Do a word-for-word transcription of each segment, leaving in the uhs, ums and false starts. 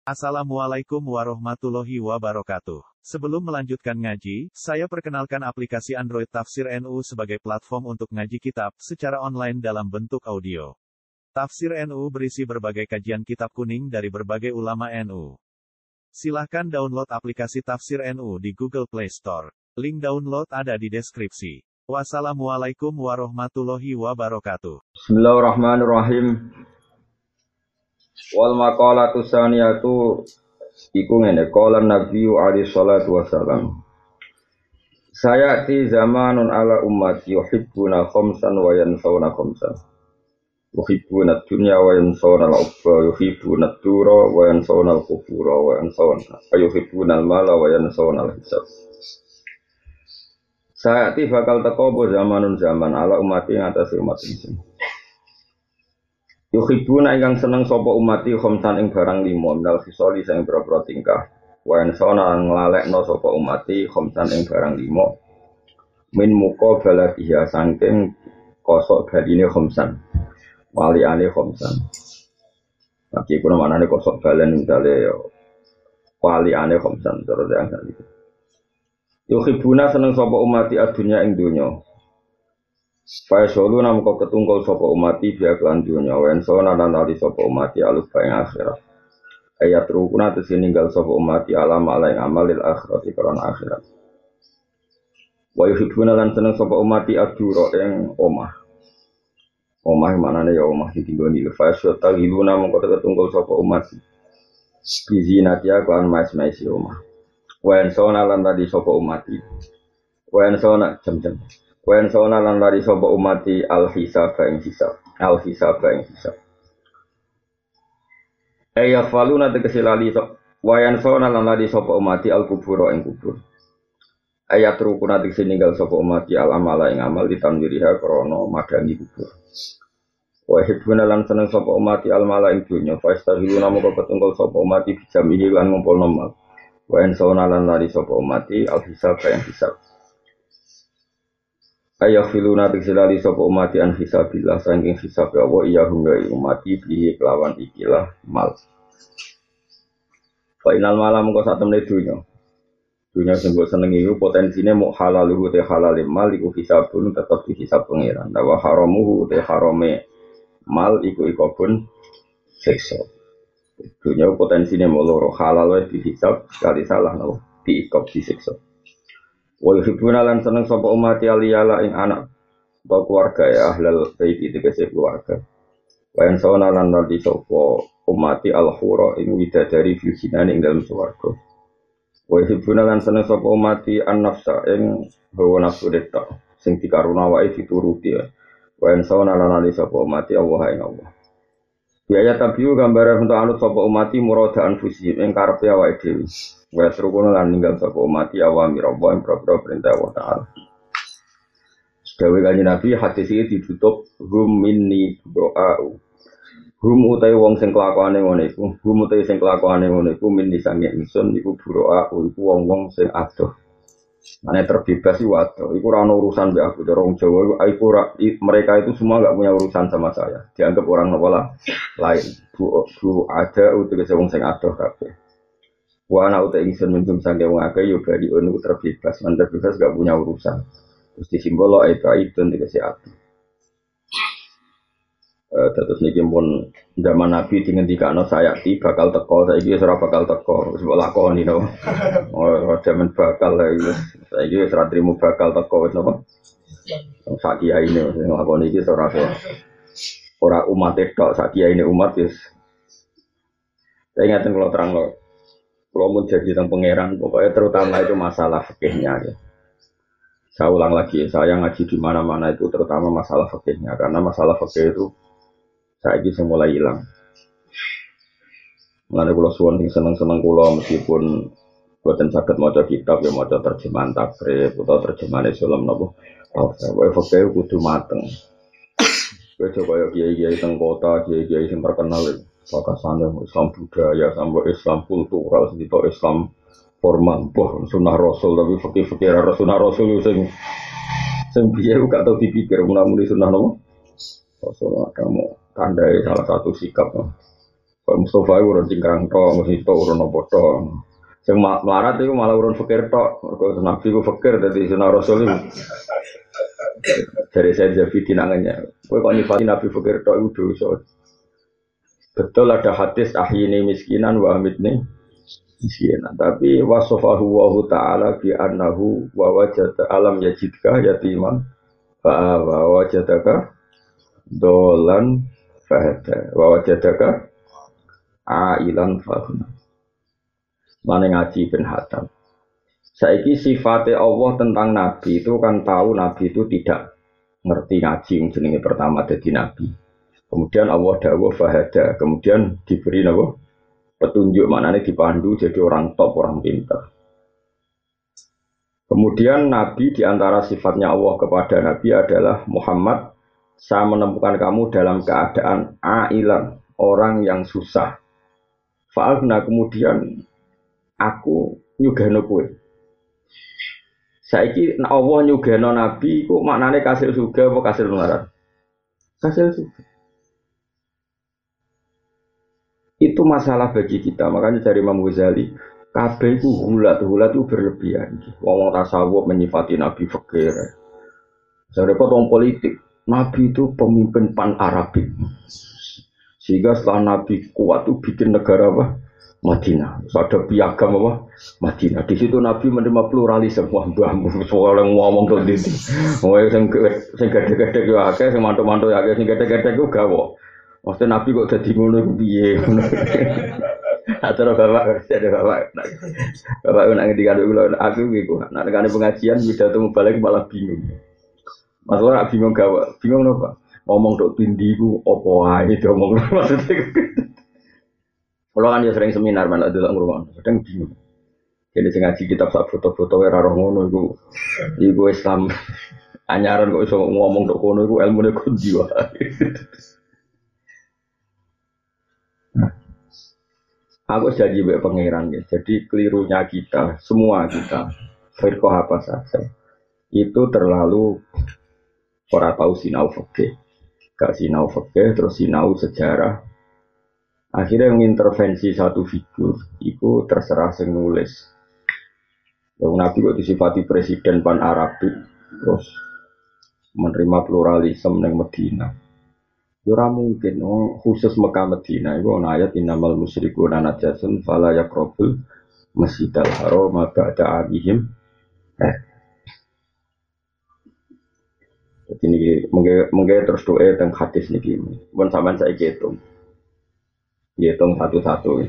Assalamualaikum warahmatullahi wabarakatuh. Sebelum melanjutkan ngaji, saya perkenalkan aplikasi Android Tafsir N U sebagai platform untuk ngaji kitab secara online dalam bentuk audio. Tafsir N U berisi berbagai kajian kitab kuning dari berbagai ulama N U. Silahkan download aplikasi Tafsir N U di Google Play Store. Link download ada di deskripsi. Wassalamualaikum warahmatullahi wabarakatuh. Bismillahirrahmanirrahim. Wal maqalatu tsaniyatu iku ngene, qala Nabiyyu alaihi salatu wasalam. Sayati zamanun ala ummati yuhibbuna khamsan wa yansawna khamsan. Yuhibbuna dunya wa yansawna al-ukhra, yuhibbuna ad-dura wa yansawna al-qubura wa yansawna yuhibbuna al-mala wa yansawna al-hisab. Sayati bakal teko apa zamanun zaman ala ummati ngatasi umat ini. Yuhibbuna ingkang seneng sapa umati khamsan ing barang lima minal khisali sing boro-boro tingkah. Wa yansana nglalekno sapa umati khamsan ing barang lima min muka baladiya saking kosok baline khamsan. Waliane khamsan. Tapi kuna manane kosok balen misale yo waliane khamsan terus yang tadi. Yuhibbuna seneng sapa umati adunya ing donya. Faya solu nam kau ketungkol sopo umati biak lan dunya wen sona dan ali sopo umati aluf bayang akhirat. Ayat rukuna tesi ninggal sopo umati alam ala yang amalil akhirat ikaran akhirat. Wa yuhibbuna lan seneng sopo umati aduro yang omah. Omah mana nih ya omah ditinggoni. Faya sota giluna nam kau ketungkol sopo umati. Bizinatia klan mais maisi omah. Wen sona lan tadi sopo umati. Wen sona jam-jam. Wen sona lan lari sapa umati al-hisab ing hisab al-hisab ing hisab ayya faluna tegese lali sok wayan sona lan lari sapa umati al-kubur ing kubur ayat rukuna tegese ninggal sapa umati al-amala ing amal ditanwiriha krana madangi kubur wa hibuna lan seneng sapa umati al-mala ing dunya fastahiluna moko ketungkol sapa umati bijamihi lan ngumpulna mal wayan sona lan lari sapa umati al-hisab ing hisab ayah filuna tiksilali sopo umati an hisabillah sangking hisab ya Allah iya hingga umati bihi kelawan ikilah mal fainal malam kau saat temen dunya dunya sembut seneng itu potensinya mau halal itu teh halal mal iku hisabun tetap di hisab pengiran dawa haramuhu teh harame mal iku ikobun sekso dunya potensinya mau loro halal di hisab sekali salah no di ikob di sekso. Wa yuhibbuna lan seneng sapa umat aliyala ing anak atau keluarga ya ahlal bait itu kese keluarga. Wa en sawana lan nanti sapa umat al-hura ing widadari fisinan ing dalam swarga. Wa yuhibbuna lan seneng sapa umat an-nafsa ing hawa nafsu deta sing dikaruna wae dituruti. Wa en sawana lan nanti sapa umat Allah ing Allah. Biaya tabiu gambaran untuk anut sapa umat muradaan fusihim ing karepe awake dhewe. Wa serukono lan ninggal sapa umat awamir Allah ing propro perintah Allah Ta'ala. Dewe kanjeng Nabi hadis iki ditutup hum minni doa'u. Hum utai wong sing kelakuane ngono iku, hum utai sing kelakuane ngono iku minni sange ingsun iku doa'u iku wong-wong sing adoh. Mane terbebas iku adoh, iku ora ono urusan mbek aku dorong Jawa iku ora mereka itu semua enggak punya urusan sama saya. Dianggap orang nopola lain. Bu, bu ada utek wong sing adoh kabeh. Wa ana uta ingsun minjum sange wong akeh yo bali ono terbebas, man terbebas gak punya urusan. Terus disimbolo itu itu dikasih ati. Eh terus niki pun zaman Nabi dingendikano sayati bakal teko, saiki wis ora bakal teko, wis mbok lakoni no. Oh zaman bakal wis saiki wis ora trimo bakal teko wis napa. Sak kiyaine sing lakoni iki ora ora umat tok, sak kiyaine umat wis. Saya ingatkan kalau terang lo. Kalau mau jadi tentang pangeran, pokoknya terutama itu masalah fikihnya. Ya. Saya ulang lagi, saya ngaji di mana-mana itu terutama masalah fikihnya, karena masalah fikih itu saya ini mulai hilang. Mengenai kalau suwon yang seneng-seneng kulo meskipun buatan sakit maca kitab ya maca terjemahan takrib atau terjemahan Islam nopo. Oh, saya fikih kudu mateng. Coba ya kiai-kiai teng kota, kiai-kiai yang terkenal. Pakasane Islam budaya sampai Islam kultural sedito Islam formal boh sunah rasul tapi fikih-fikih ra sunah rasul sing sing piye gak tau dipikir menawa sunah nopo rasul kamu tandai salah satu sikap no. Mustafa itu urun cingkrang tok, mesti tok urun apa tok. Sing melarat itu malah urun fakir tok. Mergo Nabi ku fakir dadi sunah Rasul itu. Dari saya jadi dinangannya. Kowe kok nyifati Nabi fakir tok itu dosa. Betul ada hadis ahyini miskinan wa amitni miskinan. Tapi wasofahu wa ta'ala bi annahu wa wajada alam yajidka yatiman fa wa wajadaka dolan fahada wa wajadaka ailan fahuna. Mane ngaji ben hatam. Saiki sifatnya Allah tentang Nabi itu kan tahu Nabi itu tidak ngerti ngaji yang jenenge pertama jadi Nabi. Kemudian Allah dawuh fahada, kemudian diberi apa? Petunjuk, maknanya dipandu jadi orang top, orang pintar. Kemudian Nabi diantara sifatnya Allah kepada Nabi adalah Muhammad, saya menemukan kamu dalam keadaan ailan, orang yang susah. Fa'alna kemudian aku nyugano kowe. Saiki Allah nyugano Nabi ku maknane kasil surga apa kasil neraka? Kasil surga. Itu masalah bagi kita, makanya dari Imam Ghazali kabeh itu hulat, hulat itu berlebihan. Wong tasawuf menyifati Nabi fakir. Saya repot wong politik, Nabi itu pemimpin pan Arabik. Sehingga setelah Nabi kuat itu bikin negara apa? Madinah. Ada piagam apa? Madinah. Di situ Nabi menerima pluralisme. Wah, mbahmu soal yang ngomong tuh di sini. Wah, yang yang gede-gede itu akeh, yang mantu-mantu akeh, yang gede-gede itu gawo. Maksudnya Nabi kok jadi ngono piye? Acara bapak, ada bapak. Bapak nak ngendikan dulu, aku gitu. Nak nekane pengajian pidato balik malah bingung. Masalah nak bingung gawe, bingung apa? Ngomong dok tindi ku opo ae ngomong maksudnya. Kalau kan ya sering seminar mana delok ngrungokno, kadang bingung. Jadi sing ngaji kitab sak foto-foto ora roh ngono iku. Iku Islam anyaran kok iso ngomong dok kono iku ilmune kundi wae. Aku janji mbek pangeran ya. Jadi kelirunya kita, semua kita, firqah apa saja, itu terlalu ora tahu sinau fikih. Gak sinau fikih, terus sinau sejarah. Akhirnya mengintervensi satu figur, itu terserah sing nulis. Yang Nabi kok disifati presiden pan Arabik, terus menerima pluralisme yang Medina. Ora mungkin oh, khusus Mekah Madinah itu ana ayat innamal musyrikuuna najasun fala yaqrabul masjidal haram ba'da abihim. Eh. Jadi ini mungkin terus doa tentang hadis niki. Mun sampean saiki hitung. Hitung satu-satu.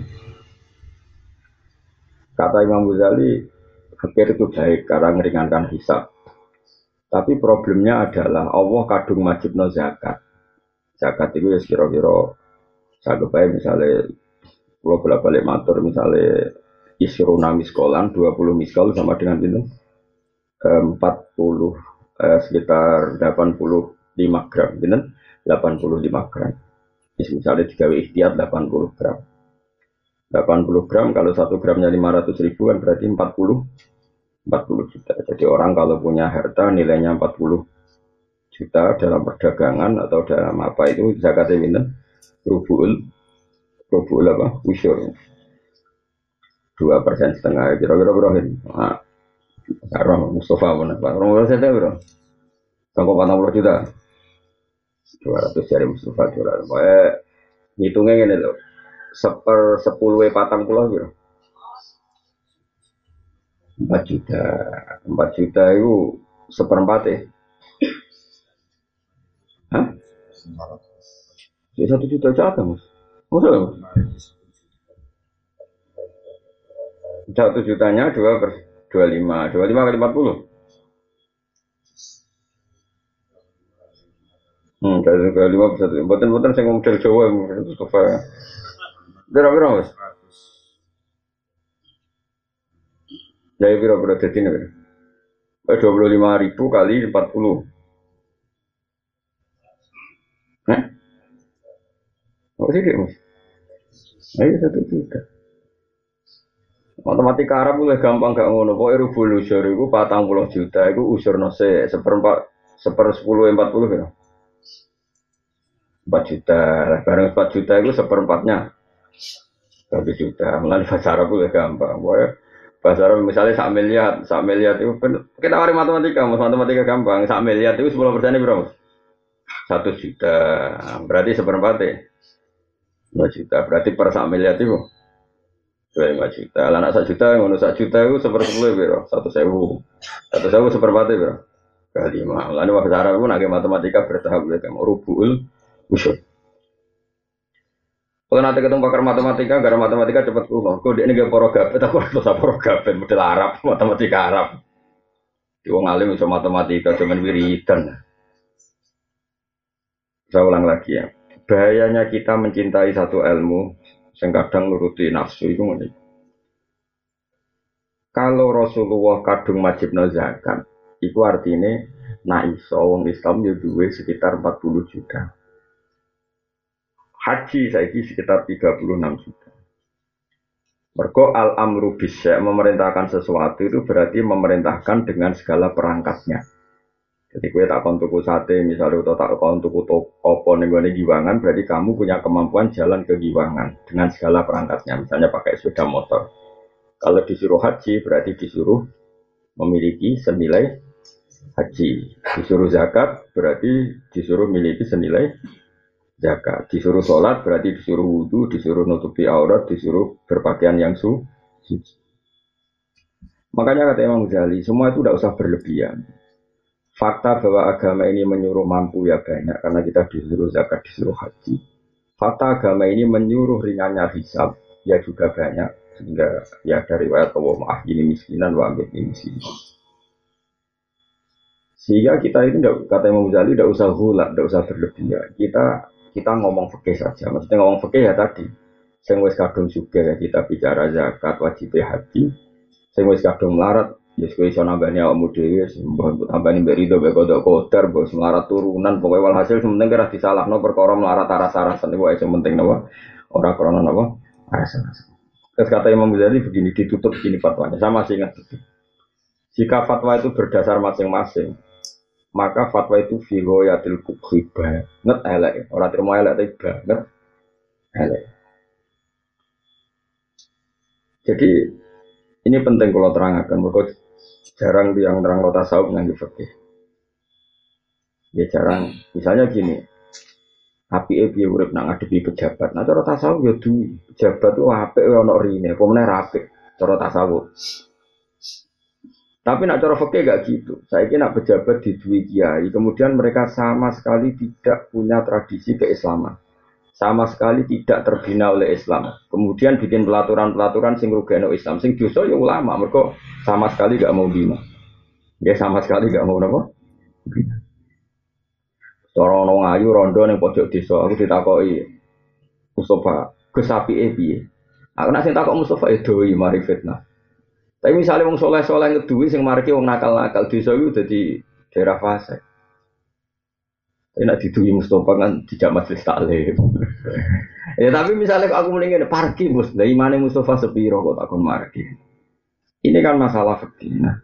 Kata Imam Ghazali, fikir itu baik karena meringankan hisab. Tapi problemnya adalah Allah kadung majibno zakat. Zakat itu ya kira-kira saya kebayang misalnya kalau bolak-balik matur misalnya isruna miskolan dua puluh miskol sama dengan itu empat puluh eh, sekitar delapan puluh lima gram gitu, delapan puluh lima gram misalnya tiga ikhtiar delapan puluh gram delapan puluh gram kalau satu gramnya lima ratus ribu kan berarti empat puluh juta. Jadi orang kalau punya harta nilainya empat puluh juta dalam perdagangan atau dalam apa itu zakatnya minta rubul rubul apa usyur dua persen setengah kira-kira berapa ini? Nah, sekarang Mustafa mana? Orang berapa saya bro? Sampai empat puluh juta, dua ratus dari Mustafa dua ratus. Eh, hitungnya gini loh, seper sepuluh patang pulau bro. Empat juta, empat juta itu seperempat ya. Hah? Jadi satu juta aja mas? Maksudnya? Satu jutanya dua per dua lima, dua lima kali empat puluh. Hmm, dari dua lima per satu. Buatan-buatan saya ngomong dari Jawa, itu sofa. Berapa mas? Jadi berapa jadi ini? Dua puluh lima ribu kali empat puluh. Hah? Apa sih dia mas? Ayo satu juta. Matematika Arab mulai gampang gak ngono. Pokoknya rubul usyur itu patang puluh juta. Itu usyur nose seperempat seper sepuluh empat puluh ya. Empat juta. Barang empat juta itu seperempatnya Satu juta, mulai bahasa Arab itu gampang. Boy, bahasa Arab misalnya sak miliar, sak miliar itu kan kita mari matematika, mas matematika gampang. Sak miliar itu sepuluh persennya berapa? Satu juta, berarti seperempat ya. Dua juta, berarti per sak miliar itu dua lima juta. Lah nak sak juta, ngono sak juta itu sepersepuluh biro, satu sewu, satu sewu seperempat biro. Kali lima. Lalu bahasa Arab pun agak matematika bertahap, kayak rubul usul. Kalau nanti ketemu pakar matematika, gara matematika cepat kuno. Kau dia ini gak porogapet, aku harus apa porogapet, model Arab, matematika Arab. Di wong alim bisa matematika, cuman wiridan. Saya ulang lagi ya. Bahayanya kita mencintai satu ilmu, yang kadang nuruti nafsu itu ini. Kalau Rasulullah kadung wajibna zakat, itu artinya na iso wong Islam ya duwe sekitar empat puluh juta. Haji saiki sekitar tiga puluh enam juta. Mergo al-amru bisya memerintahkan sesuatu itu berarti memerintahkan dengan segala perangkatnya. Jadi gue tak kon tuku sate misalnya atau tak kon tuku opo ning gone giwangan berarti kamu punya kemampuan jalan ke giwangan dengan segala perangkatnya. Misalnya pakai sepeda motor. Kalau disuruh haji berarti disuruh memiliki senilai haji. Disuruh zakat berarti disuruh memiliki senilai zakat. Disuruh sholat berarti disuruh wudu, disuruh nutupi aurat, disuruh berpakaian yang suci. Makanya kata Imam Ghazali, semua itu tidak usah berlebihan. Fakta bahwa agama ini menyuruh mampu ya banyak, karena kita disuruh zakat, disuruh haji. Fakta agama ini menyuruh ringannya hisab, ya juga banyak. Sehingga ya dari riwayat Allah maaf ini miskinan, wa ini miskinan. Sehingga kita ini kata Imam Ghazali tidak usah hulat, tidak usah berlebihan. Kita kita ngomong fikih saja. Maksudnya ngomong fikih ya tadi. Sing wis kadung juga ya kita bicara zakat, wajib haji. Sing wis kadung melarat, ya kowe iso nambani awakmu dhewe, mbok tambani mbek rido mbek kodok kodar, mbok melarat turunan, pokoke walhasil sementing kira disalahno perkara melarat aras-arasan iku sing penting napa? Ora krana napa? Aras-arasan. Terus kata Imam Ghazali begini ditutup gini fatwanya. Sama sih ingat itu. Jika fatwa itu berdasar masing-masing, maka fatwa itu figoyatil kubhi banget elek, orang terima elek tapi banget elek. Jadi ini penting kalau terangkan, mereka jarang yang terang kota tasawuf nganggo fikih. Ya jarang, misalnya gini, api ebi urip nak ngadepi pejabat, nah cara tasawuf ya duwi, pejabat itu apik ono rine, apa meneh apik cara tasawuf. Tapi nak cara fikih gak gitu. Saya kira nak pejabat di dua kiai, kemudian mereka sama sekali tidak punya tradisi keislaman, sama sekali tidak terbina oleh Islam. Kemudian bikin pelaturan-pelaturan sing rugeno Islam, sing dosa ya ulama. Mereka sama sekali gak mau bina. Dia sama sekali gak mau apa? Bina. Cara ono ngayu rondo ning pojok desa, aku ditakoki Mustafa, Gus apike piye? Aku nak sing takok Mustafa e doi mari fitnah. Tapi misalnya wong soleh-soleh ngeduwi sing mariki wong nakal-nakal desa iku dadi daerah fase. Tapi nek diduwi Mustofa kan tidak majelis taklim. Ya tapi misalnya aku mending ngene parkir Mus, lah imane Mustofa sepiro kok takon marki. Ini kan masalah fikih. Nah,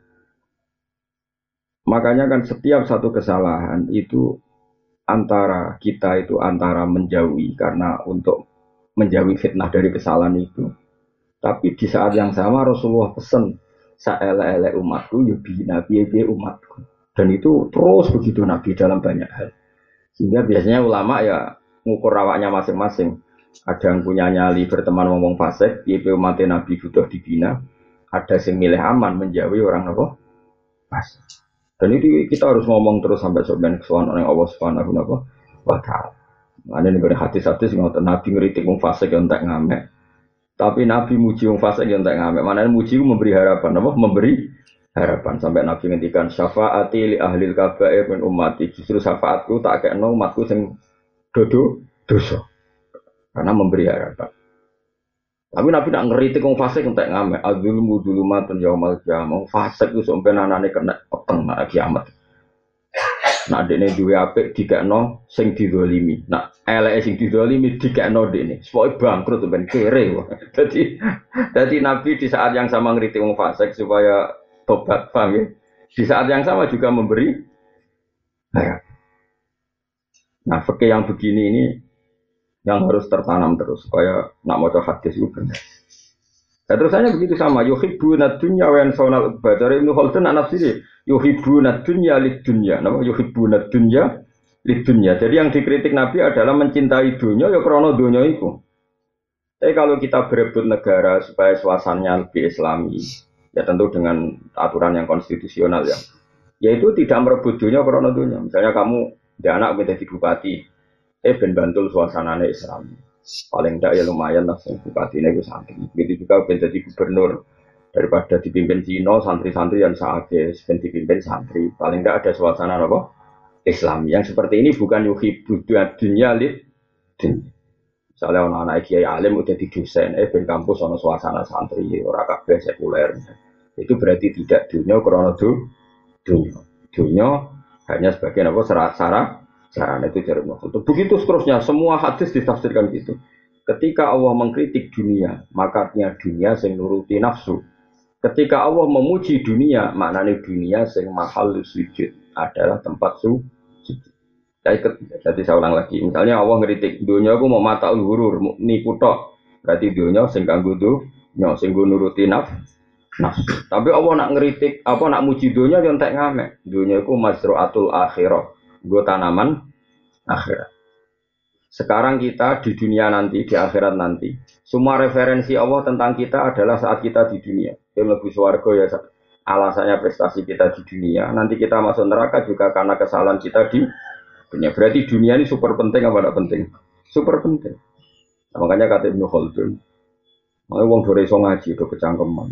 makanya kan setiap satu kesalahan itu antara kita itu antara menjauhi karena untuk menjauhi fitnah dari kesalahan itu. Tapi di saat yang sama Rasulullah pesan saele-ele umatku ya nabi nabi umatku. Dan itu terus begitu Nabi dalam banyak hal. Sehingga biasanya ulama ya ngukur awaknya masing-masing. Ada yang punya nyali berteman ngomong fasik, piye umat Nabi butuh dibina. Ada yang milih aman menjauhi orang apa? Fasik. Dan itu kita harus ngomong terus sampai sampai kesuwan oleh Allah Subhanahu wa taala. Ada nih hadis-hadis ngoten Nabi ngritik wong fasik yang tak ngamek. Tapi Nabi muji wong fasik yang tak ngamek. Mana muji memberi harapan apa? Memberi harapan sampai Nabi ngendikan syafaati li ahlil kabair min ummati. Justru syafaatku tak kekno umatku sing dodo dosa. Karena memberi harapan. Tapi Nabi nak ngeritik wong fasik yang tak ngamek. Adzulmu dzulumatun yaumal qiyamah. Wong fasik ku sampe nanane kena peteng nak kiamat. Nak dekne duwe apik dikekno sing dizalimi. Nak eleke sing dizalimi dikekno dekne. Supaya bangkrut ben kere. Dadi dadi Nabi di saat yang sama ngritik wong fasik supaya tobat, paham ya? Di saat yang sama juga memberi harapan. Nah, fikih yang begini ini yang harus tertanam terus supaya nak maca hadis itu benar. Nah, terusannya begitu sama yuhibbuna dunya wa yansawna al-ukhra. Dari Ibnu Khaldun anak sini yuhibbuna dunya lid dunya. Nama yuhibbuna dunya lid dunya. Jadi yang dikritik Nabi adalah mencintai dunya ya krana dunya itu. Tapi kalau kita berebut negara supaya suasananya lebih islami, ya tentu dengan aturan yang konstitusional ya. Yaitu tidak merebut dunya krana dunya. Misalnya kamu dia anak menjadi bupati, eh ben bantul suasananya islami. Paling tidak ya lumayan lah, bupati ini santri. Begitu juga ben jadi gubernur, daripada dipimpin Cina, santri-santri yang saatnya ben dipimpin santri. Paling tidak ada suasana apa? Islam. Yang seperti ini bukan yuhibbu dunya lid dunya. Misalnya anak-anak kiai alim udah di dosen, eh ben kampus ono suasana santri, ora kabeh sekuler. Itu berarti tidak dunya krana dunya. Dunya hanya sebagai apa syarat-syarat. Sarana itu jarum waktu. Begitu seterusnya, semua hadis ditafsirkan gitu. Ketika Allah mengkritik dunia, makanya dunia sing nuruti nafsu. Ketika Allah memuji dunia, maknanya dunia sing mahal sujud adalah tempat sujud. Jadi saya ulang lagi, misalnya Allah ngeritik dunia aku mau mata ulhurur, nipu tok. Berarti dunia sing kanggo dunya, sing nuruti nafsu. Nafsu. Tapi Allah nak ngeritik, apa nak muji dunia yo entek ngamek. Dunia iku mazru'atul akhirah. Gue tanaman akhirat. Sekarang kita di dunia nanti, di akhirat nanti, semua referensi Allah tentang kita adalah saat kita di dunia. Kita lebih swarga ya alasannya prestasi kita di dunia. Nanti kita masuk neraka juga karena kesalahan kita di dunia. Berarti dunia ini super penting apa tidak penting? Super penting. Nah, makanya kata Ibnu Khaldun, makanya wong dore iso ngaji do kecangkeman.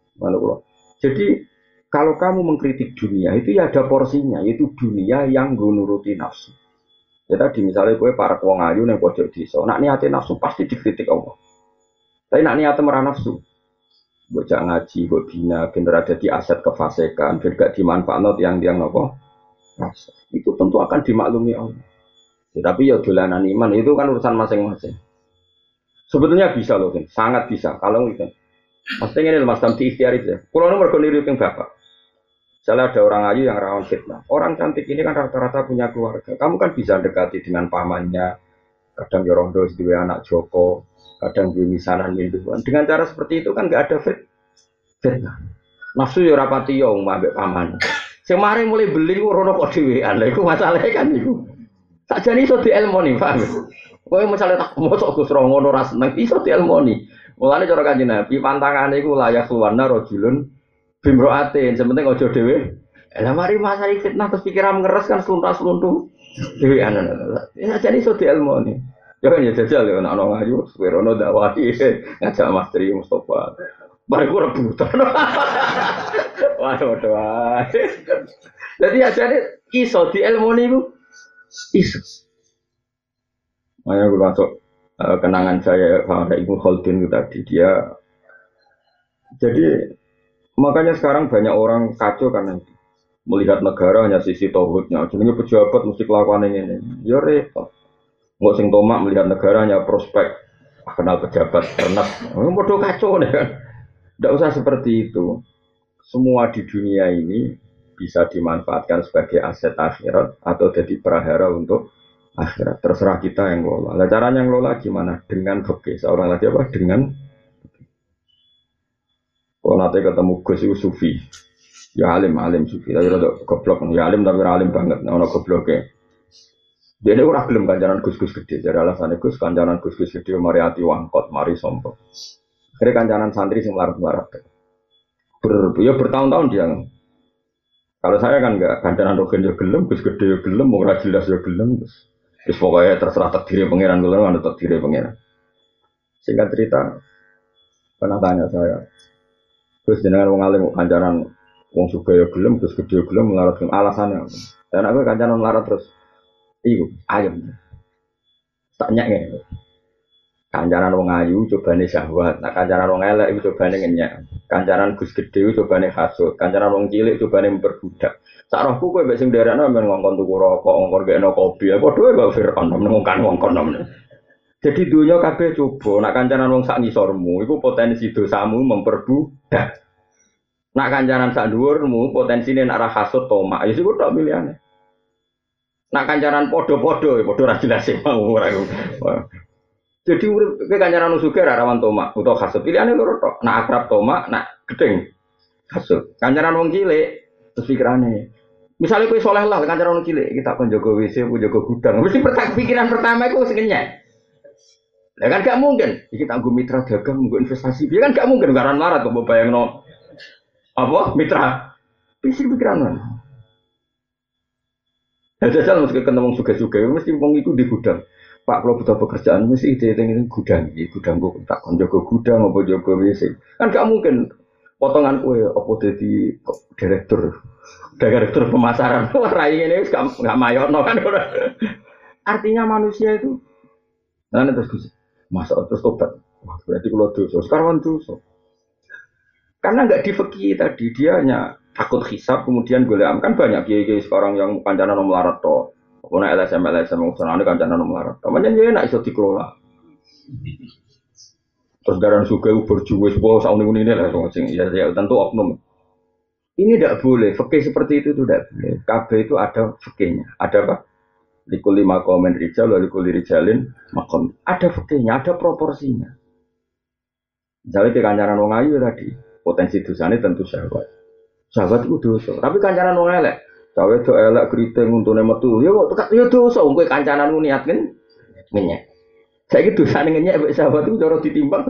Jadi kalau kamu mengkritik dunia, itu ya ada porsinya, yaitu dunia yang nuruti nafsu. Ya tadi misalnya gue para wong ayu yang pojok desa, nak niate nafsu pasti dikritik Allah. Tapi nak niate merah nafsu, bocah ngaji, gue bina, bener ada di aset kefasikan, biar gak dimanfaatkan tiang-tiang apa? Itu tentu akan dimaklumi Allah. Ya, tapi ya dolanan iman itu kan urusan masing-masing. Sebetulnya bisa loh, kan? Sangat bisa. Kalau gitu, maksudnya ini mas Tamti ikhtiar itu. Kalau nomor kondiri yang bapak. Misalnya ada orang ayu yang rawan fitnah. Orang cantik ini kan rata-rata punya keluarga. Kamu kan bisa dekati dengan pamannya. Kadang yorondo sedih anak Joko. Kadang gue misanan minduan. Dengan cara seperti itu kan gak ada fit, fitnah. Nafsu ya rapati ya mbak paman. Semarin mulai beli rono kok dhewean. Lha iku masalahnya kan iku. Sakjane iso dielmoni, paham? Kowe misale tak mosok Gus ro ngono ra seneng iso dielmoni. Mulane cara Kanjeng Nabi pantangane iku layak suwana rajulun bimroatin, sementing ojo dhewe. Lah mari masalah fitnah terus pikiran ngeres kan sluntas-sluntu dhewe anan. Ya jadi iso dielmoni. Ya kan ya jajal ya ana ngayu serono dakwahi ngajak Mas Tri Mustofa. Mari ku rebutan. Waduh waduh. Jadi ajane iso dielmoni ku iso. Makanya gue masuk uh, kenangan saya sama Ibu Khaldun itu tadi dia. Jadi makanya sekarang banyak orang kacau karena itu. Melihat negara hanya sisi tauhidnya. Jadi pejabat mesti kelakuan ini. Ya repot. Nggak sing tomak melihat negara hanya prospek. Ah, kenal pejabat ternak. Oh, bodoh kacau nih kan. Tidak usah seperti itu. Semua di dunia ini bisa dimanfaatkan sebagai aset akhirat atau jadi prahara untuk akhirat. Terserah kita yang ngelola. Nah, caranya ngelola gimana? Dengan fikih. Seorang lagi apa? Dengan kalau nanti ketemu Gus itu sufi. Ya alim, alim sufi. Tapi rada goblok. Ya alim tapi alim banget. Nah, ono gobloknya. Dia ini orang belum kancanan Gus-Gus gede. Jadi alasannya Gus kancanan Gus-Gus gede mari hati wangkot, mari sombong. Akhirnya kancanan santri sing larat-larat. Ber, ya bertahun-tahun dia. Kalau saya kan enggak kancanan rogen ya gelem, Gus gede ya gelem, mau jelas ya gelem. Terus Terus pokoknya terserah takdir pangeran dulu, ada takdir pangeran. Singkat cerita, pernah tanya saya, terus jenengan wong alim kancanan wong sugih gelem, terus gede gelem melarat gelem alasannya. Dan aku kancanan melarat terus, iku ayam. Tanya nggak? Kancanan wong ayu cobane syahwat, nah kancanan wong elek itu cobane ngenyak. Kancanan Gus gede cobane hasud, kancanan wong cilik cobane memperbudak. Sarahku kowe mbek sing nderekno men ngongkon tuku rokok, ngongkon gekno kopi, apa dhewe kok Firaun ngongkon ngongkon men. Jadi dunya kabeh coba, nak kancanan wong sak ngisormu iku potensi dosamu memperbudak. Nak kancanan sak dhuwurmu potensine nak ra hasud tomak, ya sik tok pilihane. Nak kancanan padha-padha, padha ra jelas mau ora. Jadi urip kowe kancanan sugih ra rawan tomak utawa kasut. Pilihane loro tok. Nak akrab tomak, nak gedeng kasut. Kancanan wong cilik terus pikirane. Misalnya kowe soleh lah kancanan wong cilik, kita kon jaga W C, jaga gudang. Mesti pikiran pertama iku wis ngenyek. Lah kan gak mungkin. Iki tak nggo mitra dagang, nggo investasi. Ya kan gak mungkin garan larat kok bayangno. Apa? Mitra. Pisi pikiran. Jajal mesti ketemu wong sugih-sugih, mesti wong iku di gudang. Pak kalau butuh pekerjaan mesti ide ini gudang, ini gudang gue tak kon jaga gudang apa jaga W C. Kan gak mungkin potongan kue apa jadi direktur, direktur pemasaran. Rai ini gak gak mayor no kan. Artinya manusia itu, nah terus masa terus tobat. Wah, berarti kalau dosa, sekarang dosa. Karena nggak difeki tadi dia hanya takut hisab kemudian golek kan banyak kiai-kiai sekarang yang kancanan melarat toh. Pokoknya L S M L S M ngusana ini kancanan melarat. Namanya dia enak iso dikelola. Terus daran suka berjuwe sebuah sauni ini lah sing ya, ya tentu oknum. Ini tidak boleh. Fikih seperti itu tidak boleh. K B itu ada fikihnya. Ada apa? Likul lima komen rijal, likul rijalin makom. Ada fikihnya, ada proporsinya. Misalnya ke kancanan wong ayu tadi, potensi dosanya tentu syahwat. Syahwat itu dosa. Tapi kancanan wong elek. Cawe do elek keriting untune metu. Ya kok tekan ya dosa wong kowe kancananmu niat kan ngenyek. Saiki dosane ngenyek mek sahabat iku cara ditimbang.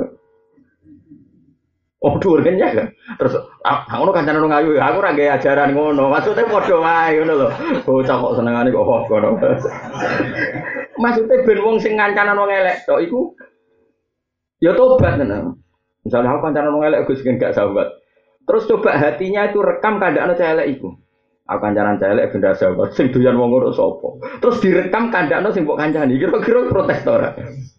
Oh dhuwur ngenyek kan. Terus ah ngono kancanan ngayu aku ora gawe ajaran ngono. Maksudnya padha wae ngono lho. Bocah kok senengane kok kok ngono. Maksudnya ben wong sing kancanan wong elek tok iku ya tobat tenan. Misalnya aku kancanan wong elek Gus gak sahabat. Terus coba hatinya itu rekam kandhane cah elek iku. Aku kancanan celek benda sahabat sing doyan wong ngono sapa. Terus direkam kandakno sing mbok kancani. Kira-kira protes to ora?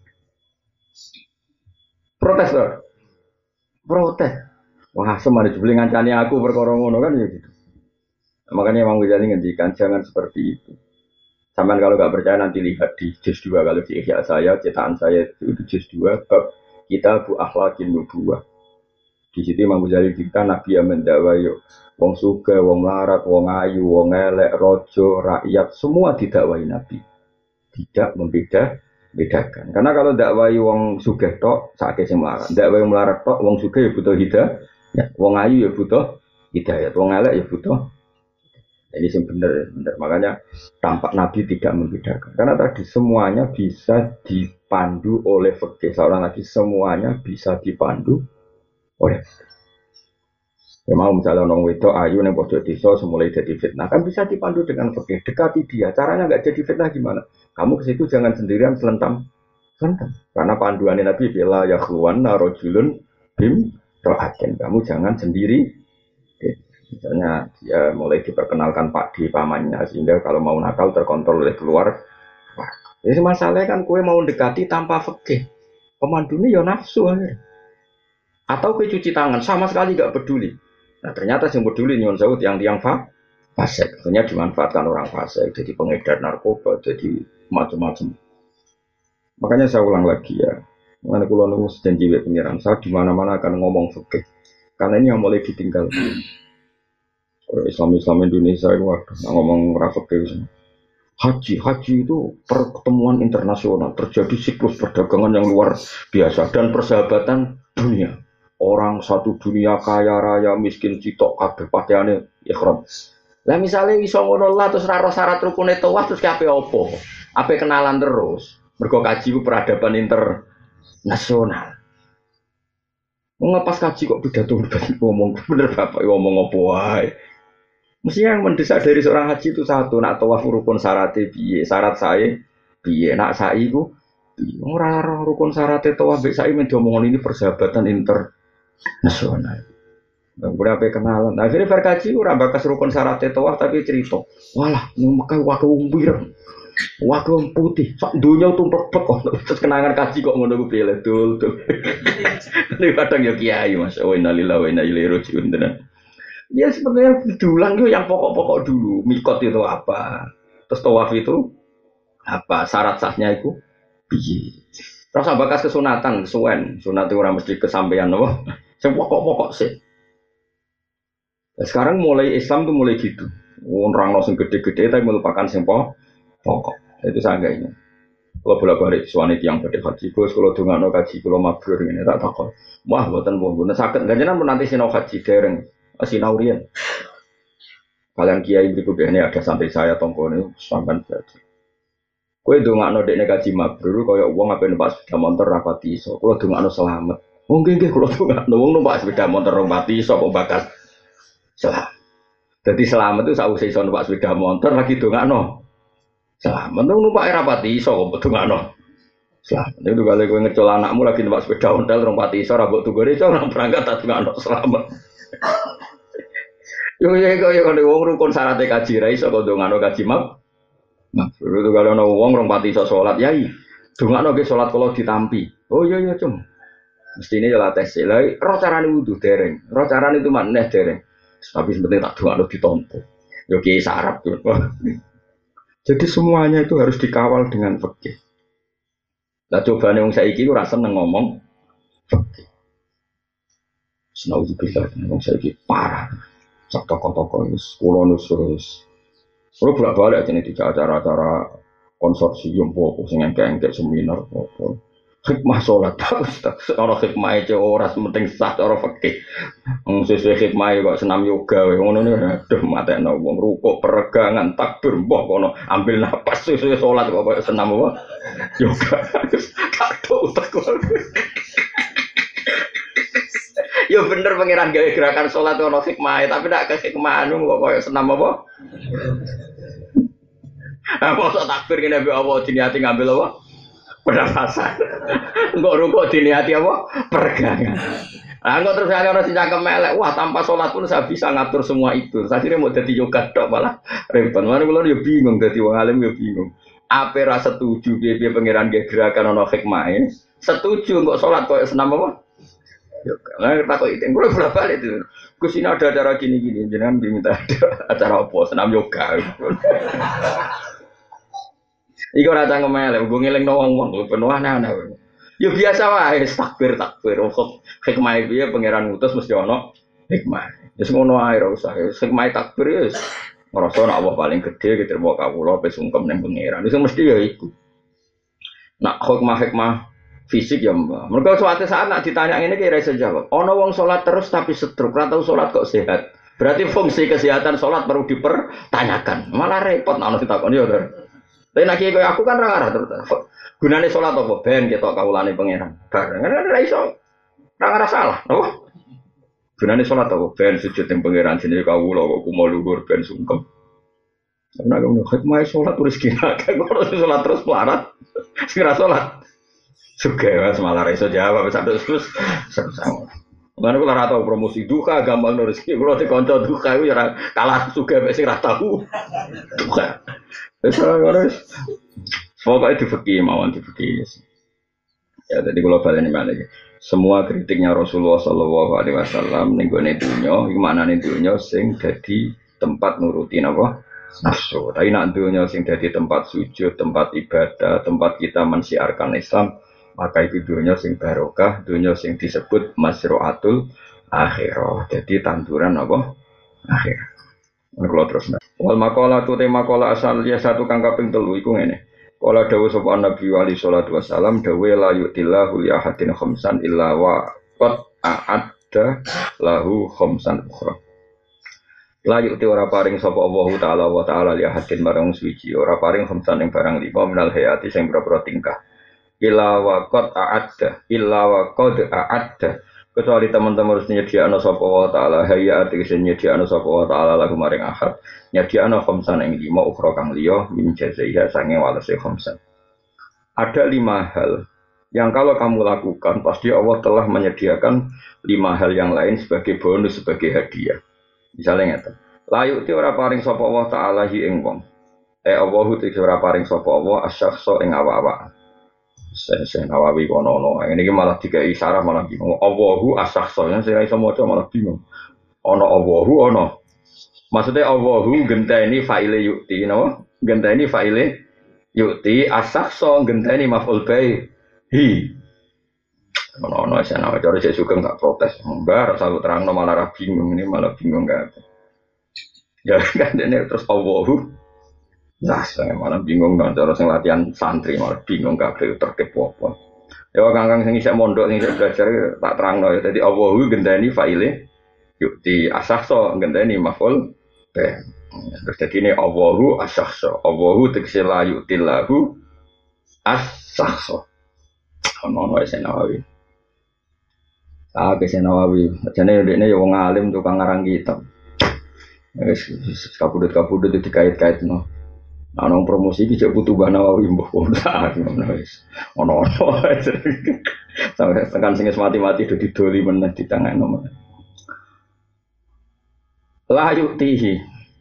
Protes to. Protes. Wah, semane jebule ngancani aku perkara ngono kan ya gitu. Makanya Imam Ghazali ngendikan jangan seperti itu. Sampeyan kalau enggak percaya nanti lihat di juz dua kalau di Ihya saya, cetakan saya itu juz dua bab Kitab Akhlaqin Nubuwah. Di situ Imam Ghazali dikatakan Nabi yang mendakwa yuk wong sugih, wong larat, wong ayu, wong elek, raja, rakyat semua didakwai Nabi. Tidak membeda bedakan. Karena kalau dakwai wong sugih tok sakake sing melarat, dakwai wong melarat tok wong sugih ya butuh hidayah, ya, wong ayu ya butuh hidayah, wong elek ya butuh. Ini sing bener, bener. Makanya tampak Nabi tidak membedakan. Karena tadi semuanya bisa dipandu oleh fikih. Seorang lagi semuanya bisa dipandu oleh ya mau misalnya orang wedok ayu yang pojok desa semulai jadi fitnah kan bisa dipandu dengan fikih. Dekati dia, caranya nggak jadi fitnah gimana? Kamu ke situ jangan sendirian selentam, selentam. Karena panduan Nabi bila ya khluwan narojulun bim rohaken. Kamu jangan sendiri. Misalnya dia mulai diperkenalkan Pak di pamannya sehingga kalau mau nakal terkontrol oleh keluar. Jadi masalahnya kan kue mau dekati tanpa fikih. Pemandunya ya nafsu aja. Atau kue cuci tangan sama sekali nggak peduli. Nah ternyata yang peduli nyon saud yang tiang fa fasik, akhirnya dimanfaatkan orang fasik, jadi pengedar narkoba, jadi macam-macam. Makanya saya ulang lagi ya, mana kulo nunggu janji pengiran saya di mana-mana akan ngomong fikih, karena ini yang mulai ditinggal. Orang Islam-Islam Indonesia itu nah, ngomong fikih. Haji, haji itu pertemuan internasional, terjadi siklus perdagangan yang luar biasa dan persahabatan dunia. Orang satu dunia kaya raya miskin citok kabeh pakaiane ihram. Lah misale iso ngono lah terus ra syarat rukune tawaf terus kabeh opo? Ape kenalan terus. Mergo kaji ku peradaban internasional. Ngepas kaji kok pidato ngomong bener Bapak ngomong opo wae. Mestinya yang mendesak dari seorang haji itu satu, nak tawaf rukun syaratnya piye, syarat saya piye, nak sa'i ku ora rukun syaratnya tawaf mbek sa'i men diomongon ini persahabatan inter nasional. Kemudian apa kenalan. Nah, akhirnya verkaji ora bakas rukun syarat tawaf tapi cerita. Walah, nang Mekah wae umbir. Wae putih. Sak donya tumplek kok. Terus kenangan kaji kok ngono ku piye dul dul. Ini kadang ya kiai Mas. Oh innalillahi wa inna ilaihi raji'un tenan. Ya sebenarnya diulang itu yang pokok-pokok dulu. Mikot itu apa? Terus tawaf itu apa? Syarat sahnya itu piye? Terus bakas kesunatan, kesuwen. Sunat itu ora mesti kesampaian apa? Sing pokok-pokok sih. Nah, sekarang mulai Islam tuh mulai gitu. Orang sing gede-gede tapi melupakan sing pokok. Itu sangganya. Kalau bolak-balik suami tiang badhe haji, Gus kalau dongakno kaji kalau mabrur ngene tak takon. Wah, mboten mboten saged ganjenan pun nanti sinau haji dereng. Sinau riyen. Kalian kiai berikut ini ada sampai saya tongkone sampean berarti. Kowe dongakno dekne kaji mabrur kaya wong ape numpak sepeda motor rapati iso. Kula dongakno selamat. Wong nggih nggih kula dongakno wong numpak sepeda motor rapati iso kok bakat. Selamat. Jadi selamat itu sausé iso numpak sepeda motor lagi dongakno. Selamat tuh numpak rapati iso kok dongakno. Selamat. Itu kalau kowe ngecol anakmu lagi numpak sepeda ontel rapati iso ra mbok tunggone iso ora berangkat tak dongakno selamat. Yo yo yo yo kalau wong rukun syarat kaji ra iso kok dongakno kaji mab. Nah, itu kalau ana wong rong pati iso salat, yai. Dongakno ge salat kula ditampi. Oh iya iya, Cung. Mestine ya latih lah, roh carane wudu dereng. Roh carane itu maneh dereng. Tapi sebenarnya tak dongakno ditampa. Yo ki sarap tuh. Jadi semuanya itu harus dikawal dengan fikih. Lah cobane wong saiki ora seneng ngomong fikih. Senauzubillah, wong saiki parah. Sak toko-toko wis kula nusus. Kalau bolak-balik jenis tiga acara-acara konsorsium pokok sing engke-engke seminar pokok hikmah sholat bagus tak orang hikmah itu orang penting sah orang fakih sesuai hikmah kok senam yoga ngono nih aduh mata no wong rukuk peregangan takbir mbah kono ambil napas sesuai sholat kok senam apa yoga kado tak ya bener pengiran gawe gerakan sholat ono hikmah tapi tidak ke hikmah anu kok koyo senam apa? Apa sok takbir kene mbek apa diniati ngambil apa? Pernafasan. Engko rukuk diniati apa? Peregangan. Lah engko terus ana sing cangkem elek, wah tanpa sholat pun saya bisa ngatur semua itu. Sakjane mau dadi yoga tok malah repot. Mane kula yo bingung dadi wong alim yo bingung. Ape ra setuju piye-piye pengiran gawe gerakan ono hikmahe? Setuju kok sholat koyo senam apa? Yoga. Lah tak kok itu, gue bolak balik itu. Gus ini ada acara gini-gini, jangan diminta ada acara apa, senam yoga. Iku rata ngemelek, gue ngiling nawang-nawang, gue penuh aneh-aneh. Ya biasa wae, takbir takbir. Hikmah itu ya pangeran ngutus mesti ono hikmah. Ya ngono ae ora usah. Hikmah takbir ya ngrasa nek Allah paling gede gitu mau kawula pe sungkem ning pangeran. Itu mesti ya iku. Nak hikmah-hikmah fisik ya mbak. Mereka suatu saat nak ditanya ini kira saya jawab. Ono wong sholat terus tapi stroke, ratau sholat kok sehat. Berarti fungsi kesehatan sholat perlu dipertanyakan. Malah repot nak ditakon ya ter. Tapi nak kayak aku kan rangarah terus. Gunane sholat apa? Ben kita kaulane pangeran. Bareng kan ada iso. Rangarah salah. Apa? Gunane sholat apa? Ben sujud yang pangeran sini kaula kok kumo luhur ben sungkem. Karena kamu hikmah sholat terus kira kan kalau sholat terus pelarat. Segera sholat. Suka mas malah reso jawab sampai terus sama. Mana kalau rata promosi duka gampang nulis. Kalau dikonco duka itu ya kalah suka masih rata tahu duka. Besar harus. Pokoknya difakir mawon difakir. Ya jadi kalau balik mana lagi. Semua kritiknya Rasulullah Shallallahu Alaihi Wasallam nenggone dunia, gimana nih dunia sing jadi tempat nurutin apa nafsu. Tapi nak dunia sing jadi tempat sujud, tempat ibadah, tempat kita mensiarkan Islam. Maka itu dunia sing barokah, dunia sing disebut masroatul akhirah. Jadi tanduran apa? Akhir. Kalau terus. Wal makola tu tema makola asal dia satu kang kaping telu iku ngene. Kala dawuh sapa Nabi wali sallallahu wasallam dawuh la yutillahu li ahadin khamsan illa wa qad a'adda lahu khamsan ukhra. La yuti ora paring sapa Allah taala wa taala li ahadin marang suci ora paring khamsan ing barang lima minal hayati sing boro-boro tingkah. Illa wa qad a'adda illa wa qad a'adda kecuali teman-teman harus nyediakno sapa wa taala hayati sing nyediakno sapa wa taala lagu maring ahad nyediakno khamsan ing lima ukhra kang liya min jazaiha sange walase khamsan. Ada lima hal yang kalau kamu lakukan pasti Allah telah menyediakan lima hal yang lain sebagai bonus sebagai hadiah. Misalnya ngeten. Layu ti ora paring sapa wa taala hi ing wong. Eh Allahu ti ora paring sapa Allah asyakhsa ing awak-awak. Saya Nawawi kono-kono, ini malah tiga isyarat malah bingung. Allahu as-sakhsa, saya iso maca malah bingung. Ono Allahu ono. Maksudnya Allahu genteni fa'ile yukti, napa? Genteni fa'ile yukti as-sakhsa genteni maf'ul ba'i. Hi. Ono-ono saya Nawawi cara saya suka enggak protes. Enggak, rasa terangno malah ra bingung, ini malah bingung enggak. Ya kan ini terus Allahu Nah, saya malah bingung dong, cara sing latihan santri malah bingung kabeh tertib apa. Ya kangkang sing isih mondok sing isih belajar tak terangno ya. Dadi Allahu gendani faile yuk di asahso gendani maful be. Terus jadi ini Allahu asahso. Allahu tegese la yu'tillahu asahso. Ono ono wis Nawawi. Ah wis Nawawi. Jane ndekne ya wong alim tukang ngarang kitab. Wis kabudut-kabudut dikait-kaitno. Ana promosi iki cek butuh Mbah Nawawi mbah ora ngono wis. Ono-ono sampai tekan sing mati-mati do didoli meneh ditangane meneh. La yuktihi.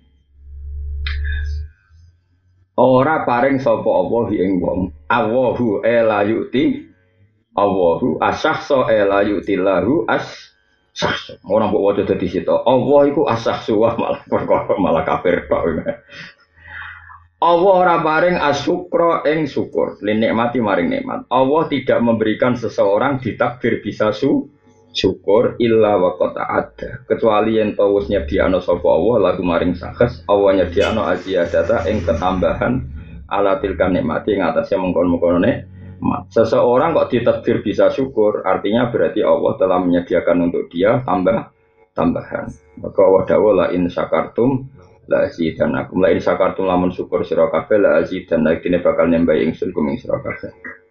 Ora paring sapa apa ing wong. Allahu la yukti. Allahu asahsa la yukti lahu as sahsa. Ora mbok waca dadi sita. Allah iku asahsu malah perkara malah kafir tok. Allah ora paring asyukra ing syukur, li nikmati maring nikmat. Allah tidak memberikan seseorang ditakdir bisa su syukur illa wa qad ada. Kecuali yen to wis nyediakno sapa Allah lagu maring sakes, Allah nyediakno aziyadata ing ketambahan ala tilkan nikmati ing atase mengkon-mengkono nikmat. Seseorang kok ditakdir bisa syukur, artinya berarti Allah telah menyediakan untuk dia tambah tambahan. Maka Allah dawuh la in syakartum la azidanakum la in syakartum lamun syukur sira kabeh la azidanakum dene bakal nambah ingsun kuming sira kabeh.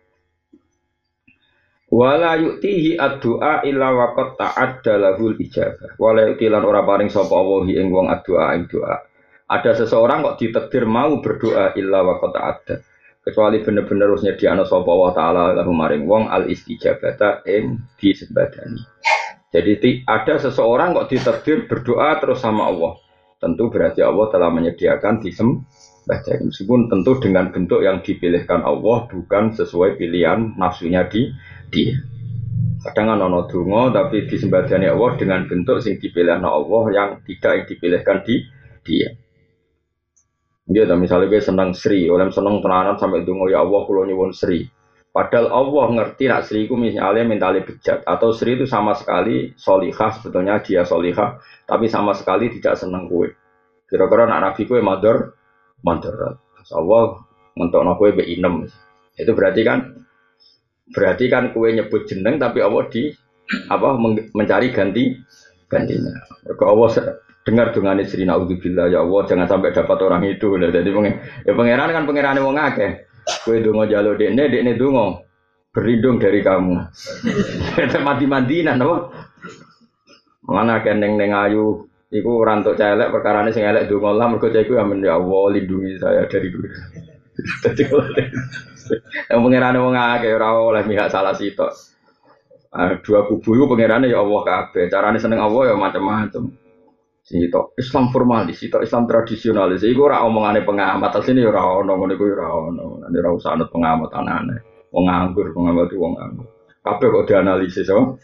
Wala yu'tihi ad-du'a illa waqad ta'adda lahul ijabah. Wala yu'tilan ora paring sapa Allah ing wong ad-du'a ing doa. Ada seseorang kok ditakdir mau berdoa illa waqad ta'adda. Kecuali bener-bener harusnya diana sapa Allah taala lahu maring wong al istijabata ing disembadani. Jadi ada seseorang kok ditakdir berdoa terus sama Allah. Tentu berarti Allah telah menyediakan disembadani. Meskipun tentu dengan bentuk yang dipilihkan Allah bukan sesuai pilihan nafsunya di dia. Kadang kan ono donga tapi disembadani Allah dengan bentuk sing dipilihkan Allah yang tidak yang dipilihkan di dia. Dia tak misalnya gue senang Sri, oleh senang tenanan sampai donga ya Allah kula nyuwun Sri. Padahal Allah ngerti nak Sri itu misalnya mentali bejat atau Sri itu sama sekali solihah, sebetulnya dia solihah tapi sama sekali tidak senang kue. Kira-kira nak Nabi kue mador, mador. Allah mentok kue be inem. Itu berarti kan, berarti kan kue nyebut jeneng tapi Allah di apa mencari ganti gantinya. Kalau Allah dengar dungane Sri naudzubillah ya Allah jangan sampai dapat orang itu. Jadi ya pangeran kan pangerane wong akeh. Kowe donga njaluk dekne, dekne donga berlindung dari kamu. Mati-matinan apa? Mana keneng neng ayu iku ora entuk celek perkarane sing elek donga lah mergo cah iku amen ya Allah lindungi saya dari dunia. Dadi kok. Yang pangerane wong akeh ora oleh mihak salah sitok. Dua kubu iku pangerane ya Allah kabeh. Carane seneng Allah ya macam-macam. Sitok Islam formalis, sitok Islam tradisionalis. Iku ora omongane pengamat, asline ya ora ono ngono iku ora ono. Nek ora usah anut pengamat anane. Wong nganggur, pengamat itu wong nganggur. Kabeh kok dianalisis apa?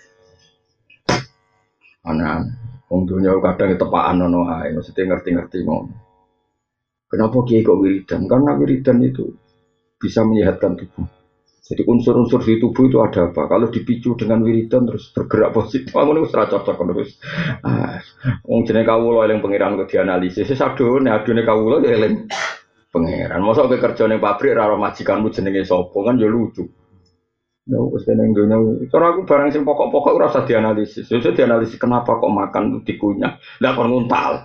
Ana wong dunya kadang tepakan ono ae, mesti ngerti-ngerti ngono. Kenapa kiai kok wiridan? Karena wiridan itu bisa menyehatkan tubuh. Jadi unsur-unsur di tubuh itu ada apa? Kalau dipicu dengan wiridan terus bergerak positif, ngono wis ora cocok ngono wis. Ah, wong jenenge kawula eling pangeran kok dianalisis. Wis adone, adone kawula ya eling pangeran. Mosok kowe kerja ning pabrik ora majikanmu jenenge sapa kan ya lucu. Ya wis ning donya. Cara aku barang sing pokok-pokok ora usah dianalisis. Ya usah dianalisis kenapa kok makan dikunyah. Lah kon nguntal.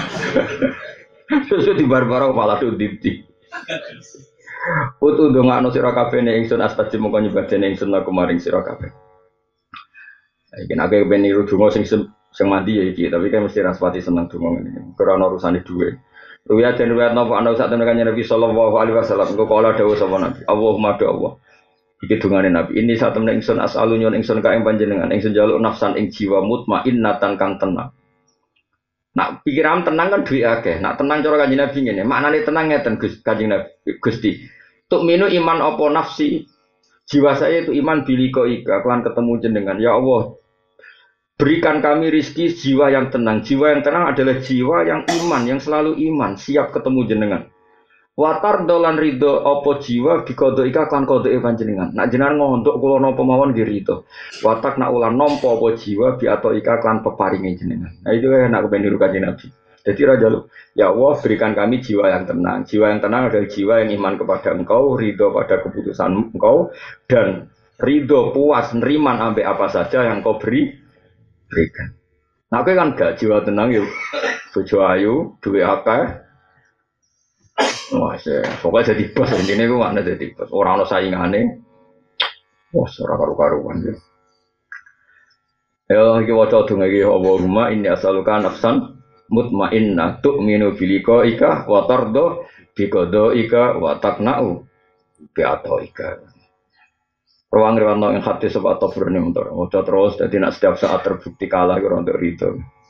Sesuk di bar-bar malah dindi. Utu ndongakno sira kabeh ning ingsun astajib mongko nyebadene ingsun laku maring sira kabeh. Iki nek ben niru donga sing sing mandi ya iki, tapi kan mesti raspati seneng donga ngene. Karena urusane dhuwit. Ruwiyat den ruwiyat napa ana sak temen kanjeng Nabi sallallahu alaihi wasallam engko kala dawuh sapa Nabi. Allahumma do Allah. Iki dungane Nabi. Ini sak temen ingsun asalu nyon ingsun ka ing panjenengan ingsun njaluk nafsan ing jiwa mutmainnatan kang tenang. Nak pikiran tenang kan duwe akeh. Nak tenang cara kanjeng Nabi ngene. Maknane tenang ngeten Gus kanjeng Nabi Gusti. Tuk minu iman apa nafsi. Jiwa saya itu iman biliko ika kelan ketemu jenengan. Ya Allah, berikan kami rizki jiwa yang tenang. Jiwa yang tenang adalah jiwa yang iman, yang selalu iman, siap ketemu jenengan. Watar dolan ridho apa jiwa bikodo ika kelan kodo panjenengan. Nak jenengan ngontok kula napa mawon nggih ridho. Watak nak ulan nampa apa jiwa bi ato ika kelan peparinge jenengan. Nah itu nak kepen niru kanjeng Nabi. Jadi raja lu, ya Allah berikan kami jiwa yang tenang. Jiwa yang tenang adalah jiwa yang iman kepada Engkau, ridho pada keputusan Engkau, dan ridho puas neriman ambil apa saja yang Kau beri berikan. Nah, aku kan gak jiwa tenang yuk, bojo ayu, duwe apa? Wah, pokoknya jadi bos intinya gue mana jadi bos. Orang orang saingannya, wah, seorang karu-karuan ya. Ya, kita wajah dengan ini, Allahumma inni as'aluka nafsan mutmainnah tu'minu biliqa'ika wa tardo biqada'ika wa taqna'u bi'ata'ika. Ruang riwayat yang hadis sebab Tabrani untuk wajah terus jadi nak setiap saat terbukti kalah untuk itu.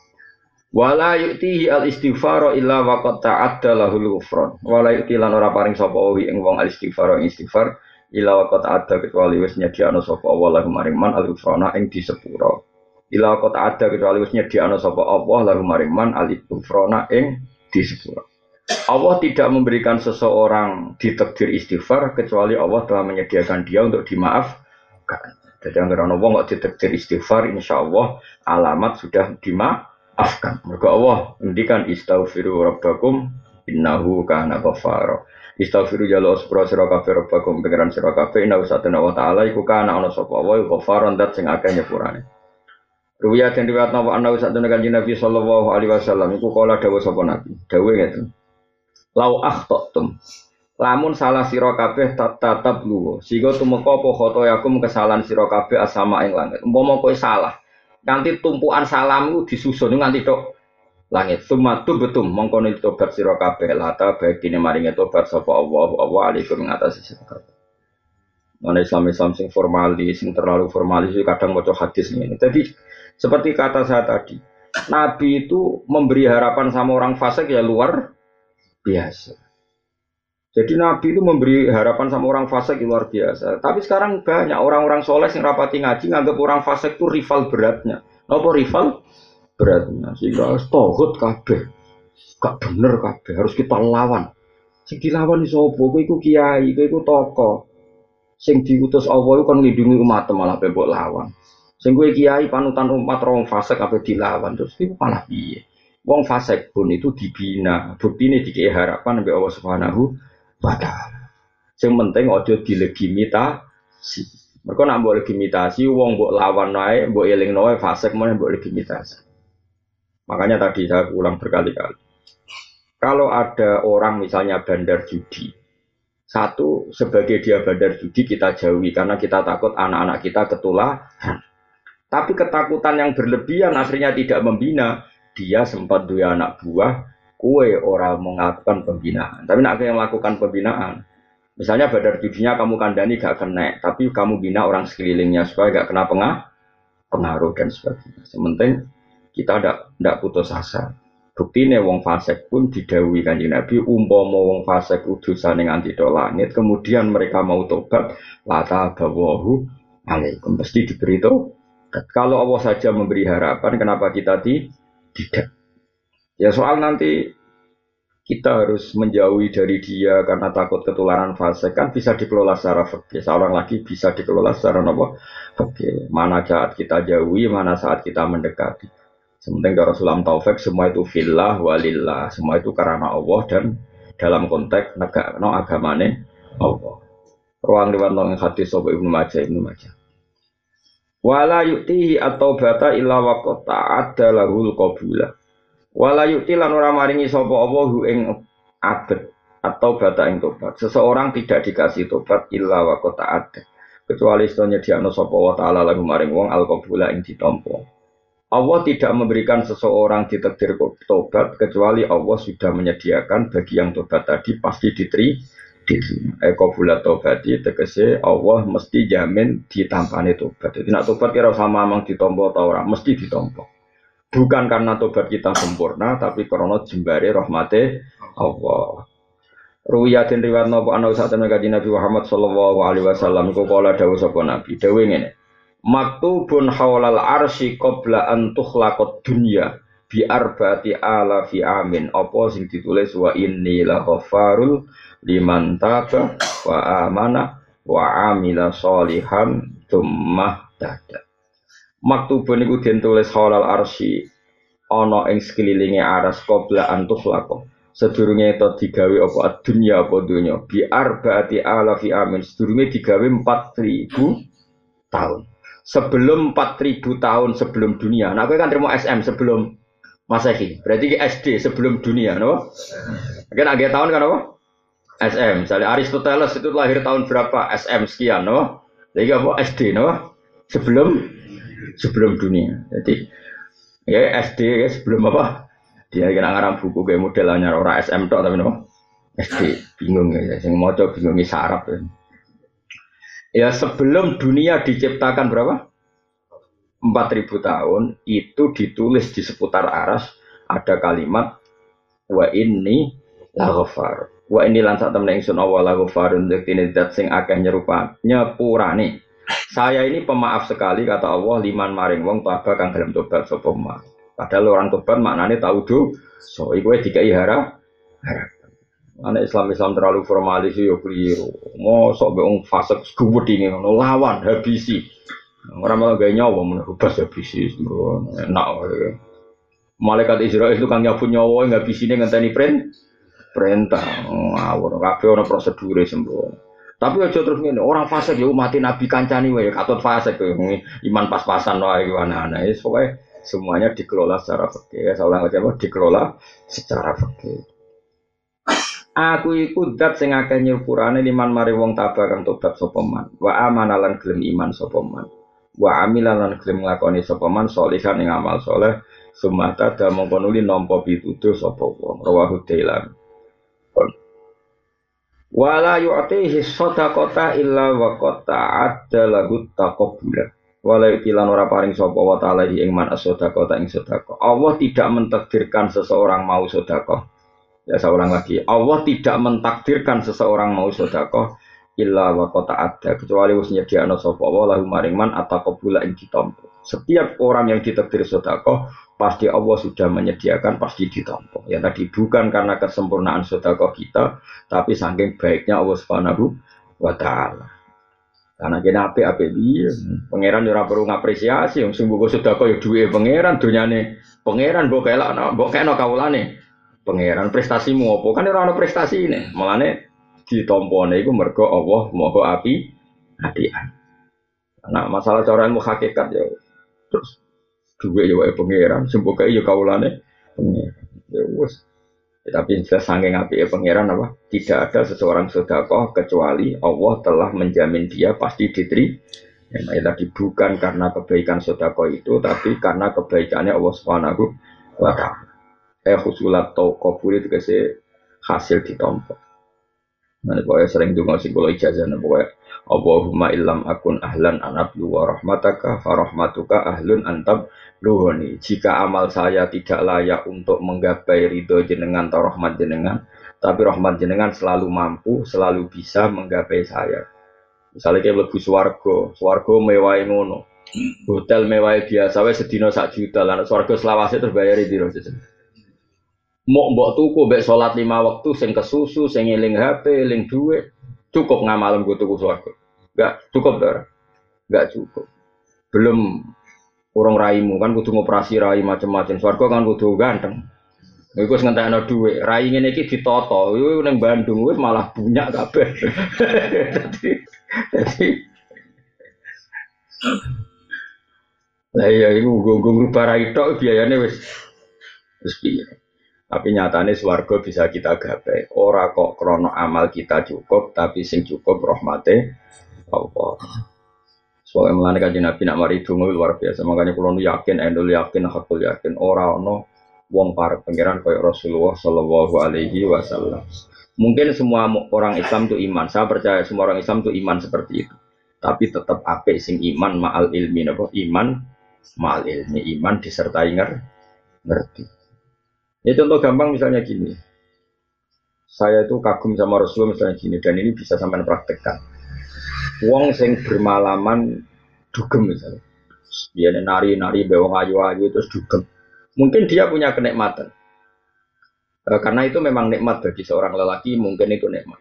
Wala yu'tihi al-istighfara illa waqad ta'adda lahul ghufran. Wala yu'ti lan ora paring sapa wi ing wong al-istighfar ing istighfar illa waqad ta'adda kecuali wis nyediakno sapa Allah lahum maring man al-ghufrana ing disepuro. Ila kota ada kecuali wis nyediakno sapa Allah lalu maring man al-ghufrana ing disepuro. Allah tidak memberikan seseorang ditakdir istighfar kecuali Allah telah menyediakan dia untuk dimaafkan. Jadi anggar ana wong kok ditakdir istighfar insyaallah alamat sudah dimaafkan. Mergo Allah ngendikan istaghfiru rabbakum innahu kana ghafara. Istaghfiru jalo sepura sira kabeh rabbakum pengiran sira kabeh inna satana wa ta'ala iku kana ana sapa wa ghafaron dat sing akeh nyepurane. Ruwiyat yang riwayat nawa anna satana kanjeng Nabi sallallahu alaihi wasallam iku kala dawuh sapa Nabi. Dawuh ngeten. Lau akhtatum lamun salah sira kabeh tatap luwo sehingga tumeka apa khotoyakum kesalahan sira kabeh asama ing langit. Umpama kowe salah nanti tumpukan salammu disusun nganti tok langit. Sumatu betum mongko tobat sira kabeh lata bagine maringe tobat sapa Allah Allah alaikum ing atas sira kabeh. Ana Islam Islam sing formalis sing terlalu formalis kadang maca hadis ngene. Jadi seperti kata saya tadi, Nabi itu memberi harapan sama orang fasik ya luar biasa. Jadi Nabi itu memberi harapan sama orang fasik luar biasa. Tapi sekarang banyak orang-orang soleh yang rapati ngaji nganggap orang fasik itu rival beratnya. Apa rival beratnya? Sehingga harus tohut kabeh, gak bener kabeh, harus kita lawan. Sing dilawan iso apa? Kowe iku kiai, kowe iku tokoh. Sing diutus Allah itu kan nglindungi umat malah mbok lawan. Sing kowe kiai panutan umat wong fasik kabeh dilawan terus iku malah piye? Wong fasik pun itu dibina, buktine dikei harapan ambek Allah Subhanahu wa taala. Sing penting aja dilegitimasi. Mergo nek mbok legitimasi wong mbok lawan wae, mbok elingno wae fasik meneh mbok legitimasi. Makanya tadi saya ulang berkali-kali. Kalau ada orang misalnya bandar judi, satu sebagai dia bandar judi kita jauhi karena kita takut anak-anak kita ketularan. Tapi ketakutan yang berlebihan akhirnya tidak membina. Dia sempat dua anak buah, kue orang melakukan pembinaan. Tapi nak yang melakukan pembinaan, misalnya bandar judinya kamu kandani gak kena, tapi kamu bina orang sekelilingnya supaya gak kena pengah, pengaruh dan sebagainya. Sementing kita tidak putus asa. Bukti nih wong fasik pun didhawuhi Kanjeng Nabi umpama wong fasik udusane nganti tok langit, kemudian mereka mau tobat, lata bawahu alaikum pasti diberi tobat. Kalau Allah saja memberi harapan, kenapa kita tidak? Ya soal nanti kita harus menjauhi dari dia karena takut ketularan fasik kan bisa dikelola secara fikih. Seorang lagi bisa dikelola secara apa? Fikih. Mana saat kita jauhi, mana saat kita mendekati. Sementing kalau Rasulullah taufik semua itu fillah walillah, semua itu karena Allah dan dalam konteks negara no agamane Allah. Ruang riwayat nang hadis sahih Ibnu Majah Ibnu Majah. Wala yu'tihi at-taubata illa waqad ta'adda lahul qabula. Wala yu'ti lan ora maringi sapa Allah ing abet atau bata ing tobat. Seseorang tidak dikasih tobat illa waqad ta'adda. Kecuali setelahnya diakno sapa wa ta'ala lagu maring wong al-qabula ing ditampa. Allah tidak memberikan seseorang ditakdir tobat kecuali Allah sudah menyediakan bagi yang tobat tadi pasti diterima. Eko bulat tobat tegese Allah mesti jamin ditampani tobat. Jadi nak tobat kira sama amang ditompo atau orang mesti ditompo. Bukan karena tobat kita sempurna, tapi karena jembare rahmate Allah. Ruwiyatin riwayat napa ana satene kanjeng Nabi Muhammad sallallahu alaihi wasallam iku kala dawuh sapa Nabi. Dawuh ngene. Maktubun haulal arsy qabla an tukhlaqad dunya bi arba'ati alafi amin. Apa sing ditulis wa inni la ghafarul liman taba wa amana wa amila sholihan tsumma tada. Maktubun iku den tulis halal arsy ana ing sekelilinge aras qabla antuk lako. Sedurunge itu digawe apa dunya apa dunya bi arbaati alafi amin sedurunge digawe empat ribu tahun. Sebelum empat ribu tahun sebelum dunia. Nah, kowe kan terima S M sebelum Masehi. Berarti ki S D sebelum dunia, no? Kan agak tahun kan apa? S M. Misalnya Aristoteles itu lahir tahun berapa? S M sekian, no? Jadi apa? S D, no? Sebelum sebelum dunia. Jadi ya S D ya sebelum apa? Dia kena ngarang buku kayak modelnya orang S M tok tapi no S D bingung ya, sing maca bingung sarap ya. Ya sebelum dunia diciptakan berapa? empat ribu tahun itu ditulis di seputar aras ada kalimat wa inni laghfar. Wa inni lan sak temne ingsun Allah laghfarun dzatine zat sing akeh nyerupa nyepurane. Saya ini pemaaf sekali kata Allah liman maring wong taba kang gelem tobat sapa man. Padahal orang tobat maknanya tahu do, so iku dikai harap, harap. Anak Islam Islam terlalu formalis yo keliru. Mosok be wong fasik gubut ini ngono lawan habisi. Orang malah gaya nyawa menubas habisi, enak. Malaikat Israel itu kan nyabut nyawa nggak bisine ngenteni print perintah. Ngawur kabeh ana prosedure sembrono. Tapi aja terus ngene, orang fasik ya mati nabi kancani wae katut fasik iman pas-pasan wae ana-ana. Wis pokoke semuanya dikelola secara fikih. Saya ulang lagi apa? Dikelola secara fikih. Aku iku zat sing akeh nyepurane liman mari wong tabah kang tobat sapa man. Wa amanalan gelem iman sapa man. Wa amilan gelem nglakoni sapa man sholihan ing amal saleh. Sumata da mongko nuli nampa pituduh sapa wong. Rawahu Dailan. Wala yu'tihi shadaqata illa wa qata'adda lahu taqabbula. Walau tilan ora paring sapa wa ta'ala ing man as-sadaqah ta ing sedekah. Allah tidak mentakdirkan seseorang mau sedekah. Ya seorang lagi. Allah tidak mentakdirkan seseorang mau sedekah illa wa qata'adda kecuali wis nyediakno sapa wa lahu maring man ataqabbula ing ditampa. Setiap orang yang ditakdir sedekah pasti Allah sudah menyediakan pasti ditampa. Ya tadi bukan karena kesempurnaan sedekah kita, tapi saking baiknya Allah Subhanahu wa taala. Karena kena apik-apik piye, pangeran ora perlu ngapresiasi, wong sing mbok sedekah ya duwe pangeran, donyane pangeran mbok kelakno, mbok kena kawulane. Pangeran prestasimu apa? Kan ora ana prestasine. Mulane ditampane iku mergo Allah Maha api apian. Nah, masalah cara ilmu hakikat ya terus duwe ya wae pangeran, sing mbok ya kawulane pangeran. Ya wis. Tapi jelas saking apike pangeran apa? Tidak ada seseorang sedekah kecuali Allah telah menjamin dia pasti diterima. Ya, tadi bukan karena kebaikan sedekah itu, tapi karena kebaikannya Allah Subhanahu wa taala. Eh husulat tau kabul itu kese hasil ditampa. Nah, pokoknya sering dengar sing kula ijazah pokoknya Allahumma illam akun ahlan anablu wa rahmataka fa rahmatuka ahlun antab luhoni. Jika amal saya tidak layak untuk menggapai ridho jenengan atau rahmat jenengan, tapi rahmat jenengan selalu mampu, selalu bisa menggapai saya. Misalnya kayak lebih swargo, swargo mewah ngono, hotel mewah biasa, wes sedino sak juta, lan swargo selawase terus bayari di rosis. Mau mbok tuku mbek salat lima waktu, sing kesusu, sing eling H P, eling duit, cukup ngamalem go tuku swargo. Enggak cukup, Dara. Enggak cukup. Belum urung raimu kan kudu ngoperasi rai macam-macam. Swarga kan kudu ganteng. Iku wis ngentekno dhuwit. Rai ngene iki ditata. Iku ning Bandung wis malah bunyak kabeh. Dadi dadi lah iya iku nggo ngrubah rai tok biayane wis wis piye. Tapi nyatane swarga bisa kita gapai. Ora kok krana amal kita cukup, tapi sing cukup rahmate Allah. Soalnya melane kanjeng Nabi nak mari donga luar biasa. Makanya kula yakin, endul yakin, hakul yakin ora ana wong parek pangeran kaya Rasulullah sallallahu alaihi wasallam. Mungkin semua orang Islam itu iman. Saya percaya semua orang Islam itu iman seperti itu. Tapi tetap apik sing iman ma'al ilmi napa? Iman ma'al ilmi, iman disertai ngerti. Ya contoh gampang misalnya gini. Saya itu kagum sama Rasulullah misalnya gini dan ini bisa sampai praktekkan. Wong sing bermalaman dugem misalnya, dia nari-nari bewong ayu-ayu terus dugem. Mungkin dia punya kenikmatan, e, karena itu memang nikmat bagi seorang lelaki, mungkin itu nikmat.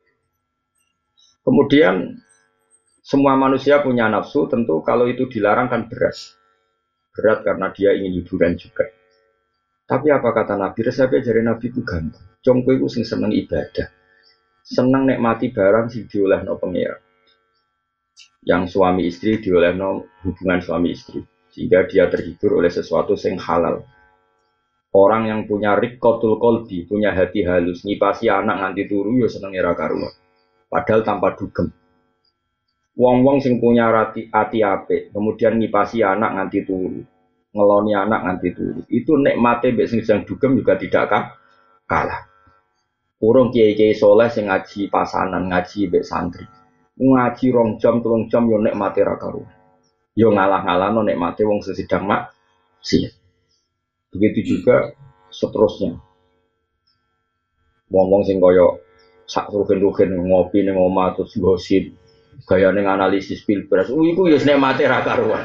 Kemudian semua manusia punya nafsu, tentu kalau itu dilarang kan berat, berat karena dia ingin hiburan juga. Tapi apa kata Nabi? Resepnya dari Nabi itu gampang. Congko itu sing seneng ibadah, seneng nikmati barang sing diolehno pengira. Yang suami istri diolehno hubungan suami istri, sehingga dia terhibur oleh sesuatu sing halal. Orang yang punya rikotul kolbi, punya hati halus, ngipasi anak nganti turu, ya seneng ira karuan. Padahal tanpa dugem. Wong-wong sing punya hati hati apik, kemudian ngipasi anak nganti turu, ngeloni anak nganti turu. Itu nikmate mbek sing sedang dugem juga tidak kalah. Urung kiai-kiai soleh sing ngaji pasanan, ngaji mbek santri. Ngaji rong jam, telung jam yo nikmate ra karuan. Yo ngalah-ngalahno nikmate wong sedang mak sih. Begitu juga seterusnya. Wong-wong sing kaya sak rugen-rugen ngopi ning omah terus gosip, gaya ning analisis pilpres. Uh, iku ya nikmate ra karuan.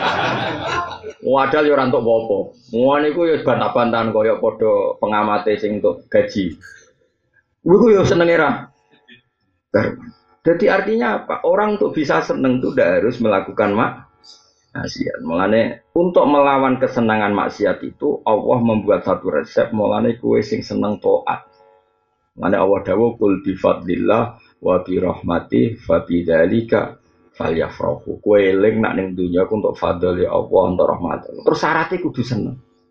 Wadal ya ora entuk apa-apa. Ngono iku ya bantah-bantahan kaya padha pengamate sing entuk gaji. Iku ya senenge ra karuan. Jadi artinya apa? Orang untuk bisa seneng itu tidak harus melakukan maksiat. Mulane untuk melawan kesenangan maksiat itu Allah membuat satu resep. Mulane kue sing seneng taat. Mulane Allah dawuh kul bi fadlillah wa bi rahmati fa bidzalika falyafrahu. Kue eling nak ning dunya untuk fadl ya Allah untuk rahmat. Terus syaratnya kudu seneng.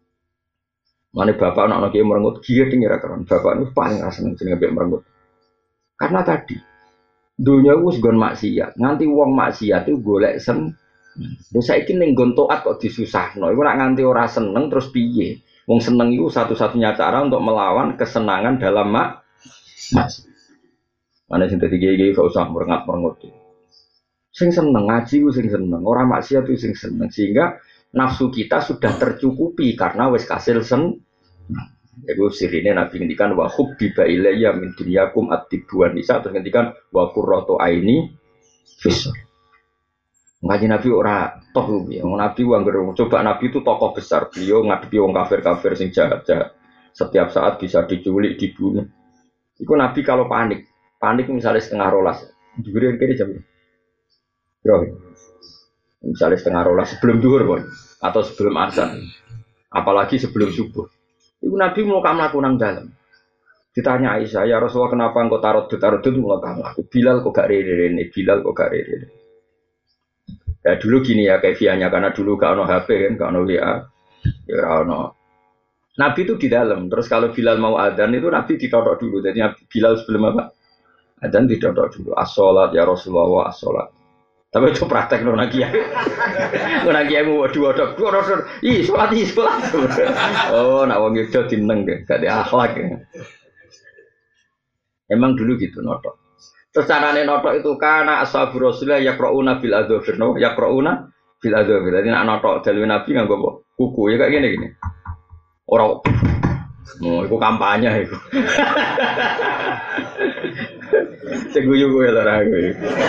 Mulane bapak anak kiai merengut kiye tinggal keren. Bapak itu paling seneng jenenge mbek merengut. Karena tadi dunia wis nggon maksiat, nganti wong maksiat itu golek sen. Lha saiki ning nggon taat kok disusahno. Iku nak nganti ora seneng terus piye? Wong seneng itu satu-satunya cara untuk melawan kesenangan dalam mak maksiat. Mana sing dadi kiai-kiai gak usah merengat-merengut. Sing seneng ngaji ku sing seneng, ora maksiat itu sing seneng sehingga nafsu kita sudah tercukupi karena wis kasil sen. Iku sirine Nabi ngendikan wa hubbiba ilayya min dunyakum at-tibuan nisa terus ngendikan wa qurratu aini fis. Ngaji Nabi ora toh ya. Nabi anggar coba Nabi itu tokoh besar, beliau ngadepi wong kafir-kafir sing jahat-jahat. Setiap saat bisa diculik, dibunuh. Iku Nabi kalau panik, panik misalnya setengah rolas. Dhuwure kene jam. Bro. Misalnya setengah rolas sebelum zuhur, atau sebelum azan. Apalagi sebelum subuh. Ibu Nabi mau kamu laku nang dalam. Ditanya Aisyah, ya Rasulullah kenapa engkau tarot tarot itu mau kamu laku? Bilal kok gak rere ini, Bilal kok gak rere. Ya dulu gini ya kefianya karena dulu gak ono H P kan, gak ono W A, ya ono. Nabi itu di dalam. Terus kalau Bilal mau adzan itu Nabi ditotok dulu. Jadi Bilal sebelum apa? Adzan ditotok dulu. As-sholat ya Rasulullah as-sholat. Tapi itu praktek no lagi ya. Lagi yang mau dua dok, dua dok, ih sholat ih sholat. Oh, nak wong itu tineng deh, gak ada akhlak ya. Emang dulu gitu notok. Terus carane notok itu karena ashabu Rasulullah yaqrauna bil adzafir, no yaqrauna bil adzafir. Jadi nak notok dalil Nabi nganggo kuku ya kayak gini gini. Orang, oh, itu kampanye itu. Seguyu gue lah ragu.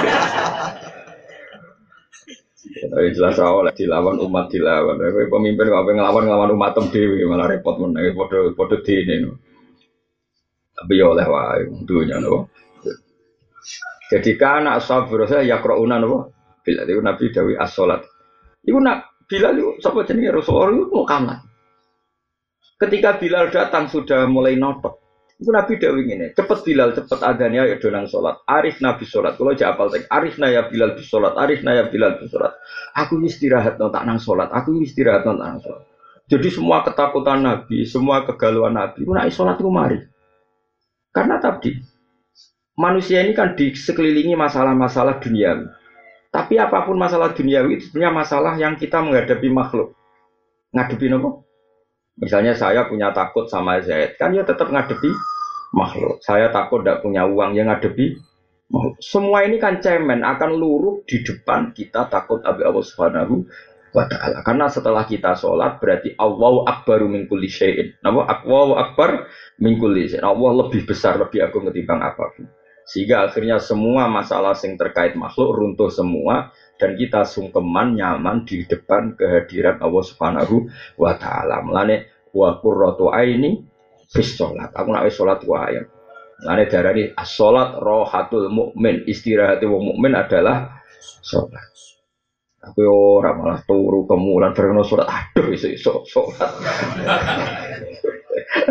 Tapi jelas awal dilawan umat dilawan. Pemimpin kok ngelawan ngelawan umat dewi malah repot meneh padha padha dene. Tapi ya oleh wae dunya no. Jadi kana ashabur saya yaqrauna no. Bila itu Nabi dawi as-salat. Iku nak Bilal itu sapa jenenge Rasulullah itu mau kamar. Ketika Bilal datang sudah mulai notok. Itu Nabi dawuh ngene, cepet Bilal, cepet adzannya ya do nang salat. Arif Nabi salat. Kula jak apal tek. Arifna ya Bilal bis salat. Arifna ya Bilal bis salat. Aku istirahat no tak nang salat. Aku istirahat no tak nang salat. Jadi semua ketakutan Nabi, semua kegalauan Nabi ku nek salat ku mari. Karena tadi manusia ini kan di sekelilingi masalah-masalah duniawi. Tapi apapun masalah duniawi itu sebenarnya masalah yang kita menghadapi makhluk. Ngadepi apa? Misalnya saya punya takut sama Zaid, kan ya tetap ngadepi makhluk. Saya takut tidak punya uang yang ngadepi makhluk. Semua ini kan cemen akan luruh di depan kita takut abi Allah Subhanahu wa Ta'ala. Karena setelah kita sholat berarti Allahu Akbaru min kulli syai'in. Allahu Akbar min kulli syai'in. Allah lebih besar, lebih agung ketimbang apapun. Sehingga akhirnya semua masalah yang terkait makhluk runtuh semua. Dan kita sungkeman nyaman di depan kehadiran Allah Subhanahu wa Ta'ala. Mulane wa qurratu aini fis sholat. Aku nak wis sholat wae. Mulane darani as-sholat rohatul mukmin. Istirahat wong mukmin adalah sholat. Aku ora malah turu kemulan bareng sholat. Aduh iso-iso sholat.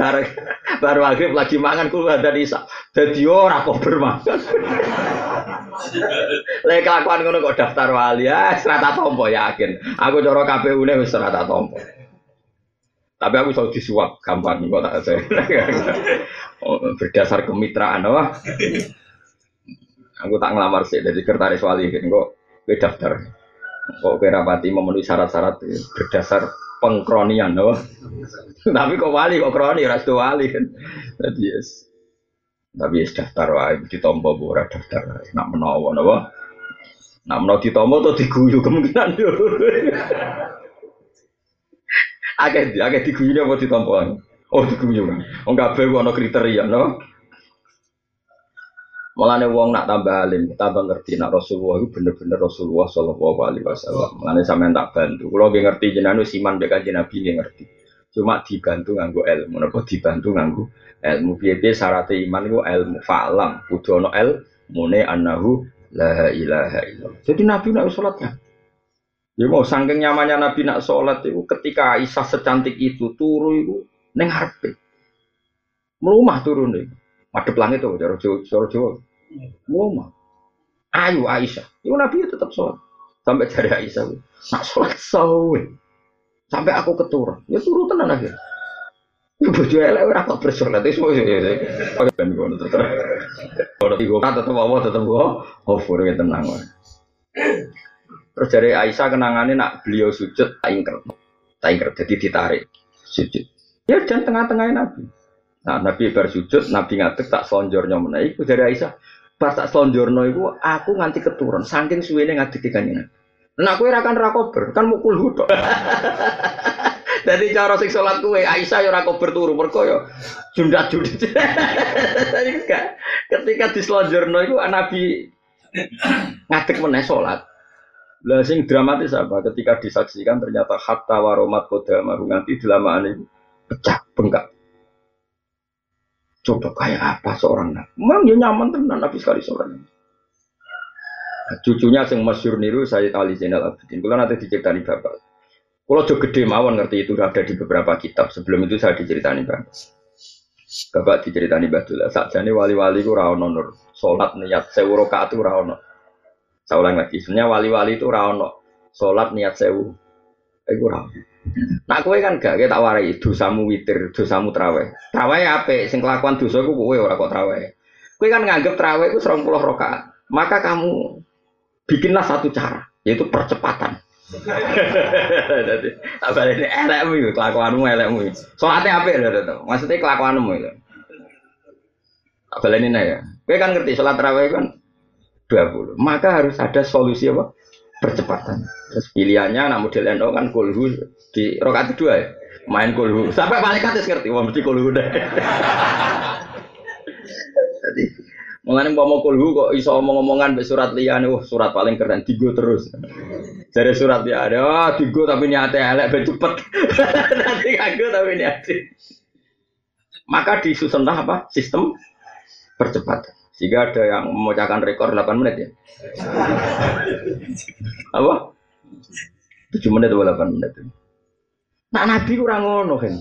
bareng baru maghrib lagi mangan kulo dari isak. Dadi ora kok bermangan. Lek kelakuan ngono kok daftar wali ya serata tompo yakin. Aku cara K P U-ne wis serata tompo. Tapi aku iso disuap gampang kok tak saya. Berdasar kemitraan apa? Aku tak ngelamar sih dari sekretaris wali kan kok kowe daftar. Kok kowe rapati memenuhi syarat-syarat berdasar pengkronian no. Tapi kok wali kok kroni ora sedo wali kan. Dadi yes. Tapi yes daftar wae ditampa ora daftar. Nak menawa napa? Nak menawa ditampa to diguyu kemungkinan yo. Akeh akeh diguyu apa ditampa. Oh diguyu kan. Wong kabeh ana kriteria no. Mulane wong nak tambah alim, tambah ngerti nak Rasulullah itu bener-bener Rasulullah sallallahu alaihi wasallam. Mulane sampean tak bantu. Kula nggih ngerti jenengan wis iman mek Kanjeng Nabi nggih ngerti. Cuma dibantu nganggo ilmu, napa dibantu nganggo ilmu. Piye-piye syarat iman iku ilmu fa'lam, kudu ana ilmune annahu la ilaha illallah. Jadi Nabi nak salat kan. Ya mau saking nyamannya Nabi nak salat itu ketika Aisyah secantik itu turu iku ning ngarepe. Mlumah turune. Madep langit itu, cara Jawa, Jawa. Muma. Ayu Aisyah. Itu Nabi tetap sholat. Sampai jari Aisyah. Nak sholat sawe. Sampai aku keturun. Ya turu tenan akhir. Ya bojo elek ora kok bersolat iso ya. Pakai ben ngono to. Ora tigo kata tetep apa tetep kok over ya tenang wae. Terus jari Aisyah kenangane nak beliau sujud tak ingker. Tak ingker jadi ditarik sujud. Ya dan tengah-tengahnya Nabi. Nah, Nabi bersujud, Nabi ngadeg tak selonjornya meneh iku dari Aisyah. Pas tak selonjorno iku aku nganti keturun saking suwene ngadeg kanjeng. Nah kowe ora kan ra kober, kan mukul hudok. Dadi cara sing salat kowe Aisyah ya ora kober turu mergo ya jundak-jundik. Tadi enggak. Ketika diselonjorno iku Nabi ngadeg meneh salat. Lah sing dramatis apa? Ketika disaksikan ternyata hatta waromat kodama nganti dilamaane pecah bengkak. Coba kayak apa seorang nabi? Memang dia nyaman tenan nabi sekali seorang. Nah, cucunya yang masyhur niru Sayyid Ali Zainal Abidin. Kalau nanti diceritani bapak. Kalau jauh gede mawon ngerti itu ada di beberapa kitab. Sebelum itu saya diceritani bapak. Bapak diceritani Badullah. Sakjane wali-wali ku ra ono nur. Salat niat sewu rakaat itu ra ono. Saya ulang lagi. Sebenarnya wali-wali itu ra ono. Salat niat sewu. Iku ra. Nah kowe kan gak tak warai dosamu witir, dosamu traweh. Traweh apik, sing kelakuan dosa iku kowe ora kok traweh. Kowe kan nganggep traweh iku serong puluh rakaat. Maka kamu bikinlah satu cara, yaitu percepatan. Dadi abalene elekmu iku kelakuanmu elekmu. Salate apik lho to. Maksudnya kelakuanmu itu. Abalene ya. Kowe kan ngerti salat traweh kan dua puluh. Maka harus ada solusi apa? Percepatan. Terus pilihannya anak model N O kan kulhu di rakaat kedua ya. Main kulhu. Sampai malaikat wis ngerti wah mesti kulhu deh. Jadi mulane umpama kulhu kok iso omong-omongan mbek surat liyane, wah surat paling keren digo terus. Jare surat ya ada, oh, digo tapi niate elek ben cepet. Nanti kagak tapi niate. Maka disusunlah apa? Sistem percepatan. Sehingga ada yang memecahkan rekor delapan menit ya. Apa? tujuh menit atau delapan menit. Nah Nabi kurang ngono kan.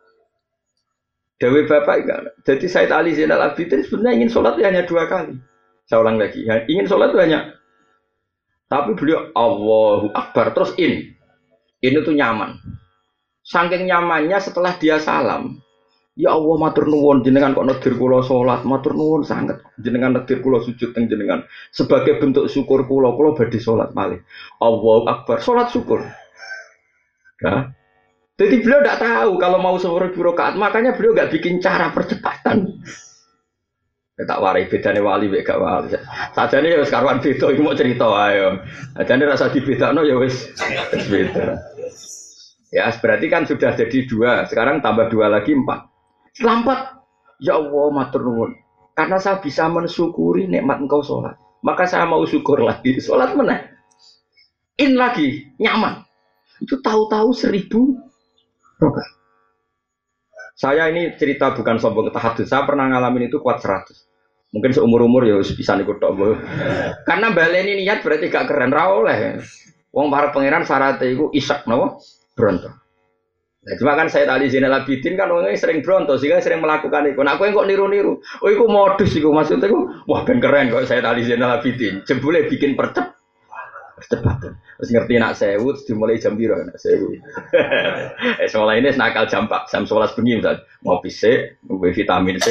Dewi Bapak enggak. Jadi Sayyid Ali Zainal Abidin sebenarnya ingin sholat hanya dua kali. Saya ulang lagi. Ingin sholat itu hanya. Tapi beliau Allahu Akbar terus in. Ini tuh nyaman. Saking nyamannya setelah dia salam. Ya Allah matur nuwun jenengan kok nedir kula salat, matur nuwun sanget. Jenengan nedir kula sujud teng jenengan. Sebagai bentuk syukur kula, kula badhe salat malih. Allahu Akbar, salat syukur. Ya. Jadi beliau tidak tahu kalau mau seribu rakaat, makanya beliau enggak bikin cara percepatan. Ya, tak warai bedane wali mek gak wali. Sajane ya wis karuan beda iki mau cerita ayo. Sajane rasa dibedakno ya wis beda. Ya, berarti kan sudah jadi dua, sekarang tambah dua lagi empat. Selampat, ya Allah matur nuwun. Karena saya bisa mensyukuri nikmat engkau sholat, maka saya mau syukur lagi. Sholat meneh. In lagi, nyaman. Itu tahu-tahu seribu rakaat. Saya ini cerita bukan sombong tahadus. Saya pernah ngalamin itu kuat seratus. Mungkin seumur-umur ya bisa nikut tok. Karena baleni niat berarti gak keren ra oleh. Wong para pangeran syaratnya iku isak napa? Bronto. Nah, cuma kan saya tadi Zainal Abidin kan orangnya sering bronto sehingga sering melakukan itu. Nah, aku yang kok niru-niru. Oh, itu modus itu maksudnya aku. Wah, ben keren kok saya tadi Zainal Abidin. Jebule bikin percep percepatan. Terus ngerti nak sewu dimulai jam biru nak sewu. Eh sekolah ini nakal jam empat, jam sebelas bengi misal. Ngopi C, ngopi vitamin C.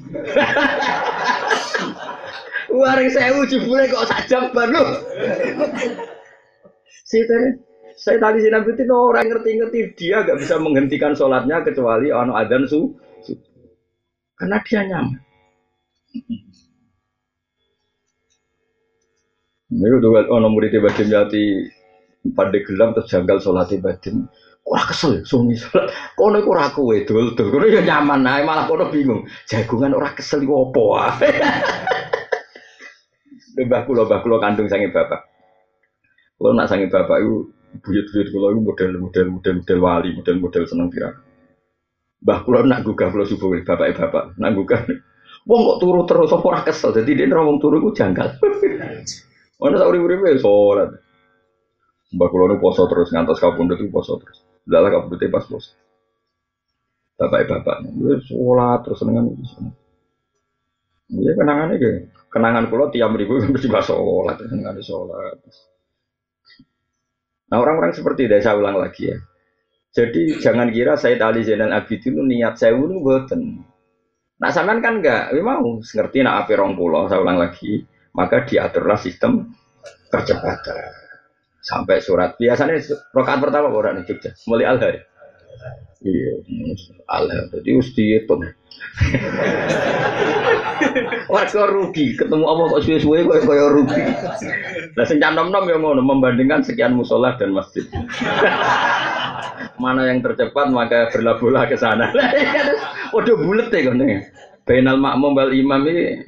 Warung sewu jebule kok sak jam baru. Si saya tadi Zainal Abidin orang ngerti-ngerti dia gak bisa menghentikan sholatnya kecuali ono adzan su, su. Karena dia nyaman. Ini udah ono murid Badim Yati pada gelam terus janggal sholatnya Badim. Wah kesel, suami sholat. Kono iku ora kowe dul-dul. Kono ya nyaman ae malah kono bingung. Jagungan ora kesel iku opo wae. Mbah kula mbah kula kandung sange bapak. Kula nak sange bapak iku buyut-buyut kula iku model-model model-model wali, model-model seneng pirang. Mbah kula nak gugah kula subuh bapake bapak, nak gugah. Wong kok turu terus apa ora kesel. Dadi dia wong turu iku janggal. Ono sak urip-uripe salat. Mbah kula nu poso terus ngantos kapundhut iku poso terus. Dalah kapundhute pas poso. Bapake bapaknya wis salat terus senengan iki. Iya kenangane iki. Kenangan kula tiap mriku mesti pas salat, senengane salat. Nah orang-orang seperti itu saya ulang lagi ya. Jadi jangan kira Sayyid Ali Zainal Abidin itu niat saya itu boten. Nah sampean kan enggak, memang ngerti nak ape rong pulau, saya ulang lagi, maka diaturlah sistem percepatan. Sampai surat biasanya rakaat pertama orang di Jogja, mulai al-hari. Iya, al-hari. Jadi mesti itu. Warga rugi, ketemu Allah kok suwe-suwe kok kaya rugi. Lah sing nom-nom ya ngono membandingkan sekian mushola dan masjid. Mana yang tercepat maka berlabuhlah ke sana. Waduh bulet ya kene. Bainal makmum wal imam iki.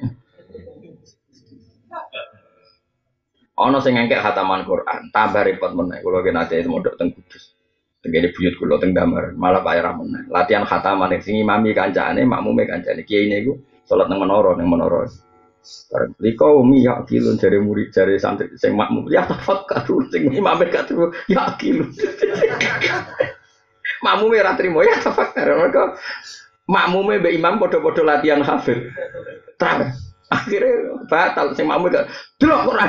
Ana sing ngengkek khataman Quran, tambah repot meneh. Kula ki nate mondok teng Kudus. Tengene buyut kula teng Damar, malah bayar meneh. Latihan khataman sing imami kancane, makmume kancane. Kiai niku salat nang menara, nang menara. Bareng liko umi ya kilun jare murid jare santri sing makmum ya tafakkur sing imame gak terus ya kilun. Makmume ora trimo ya tafakkur. Mergo makmume mbek imam padha-padha latihan hafid. Terus akhirnya batal sing makmume gak delok Quran.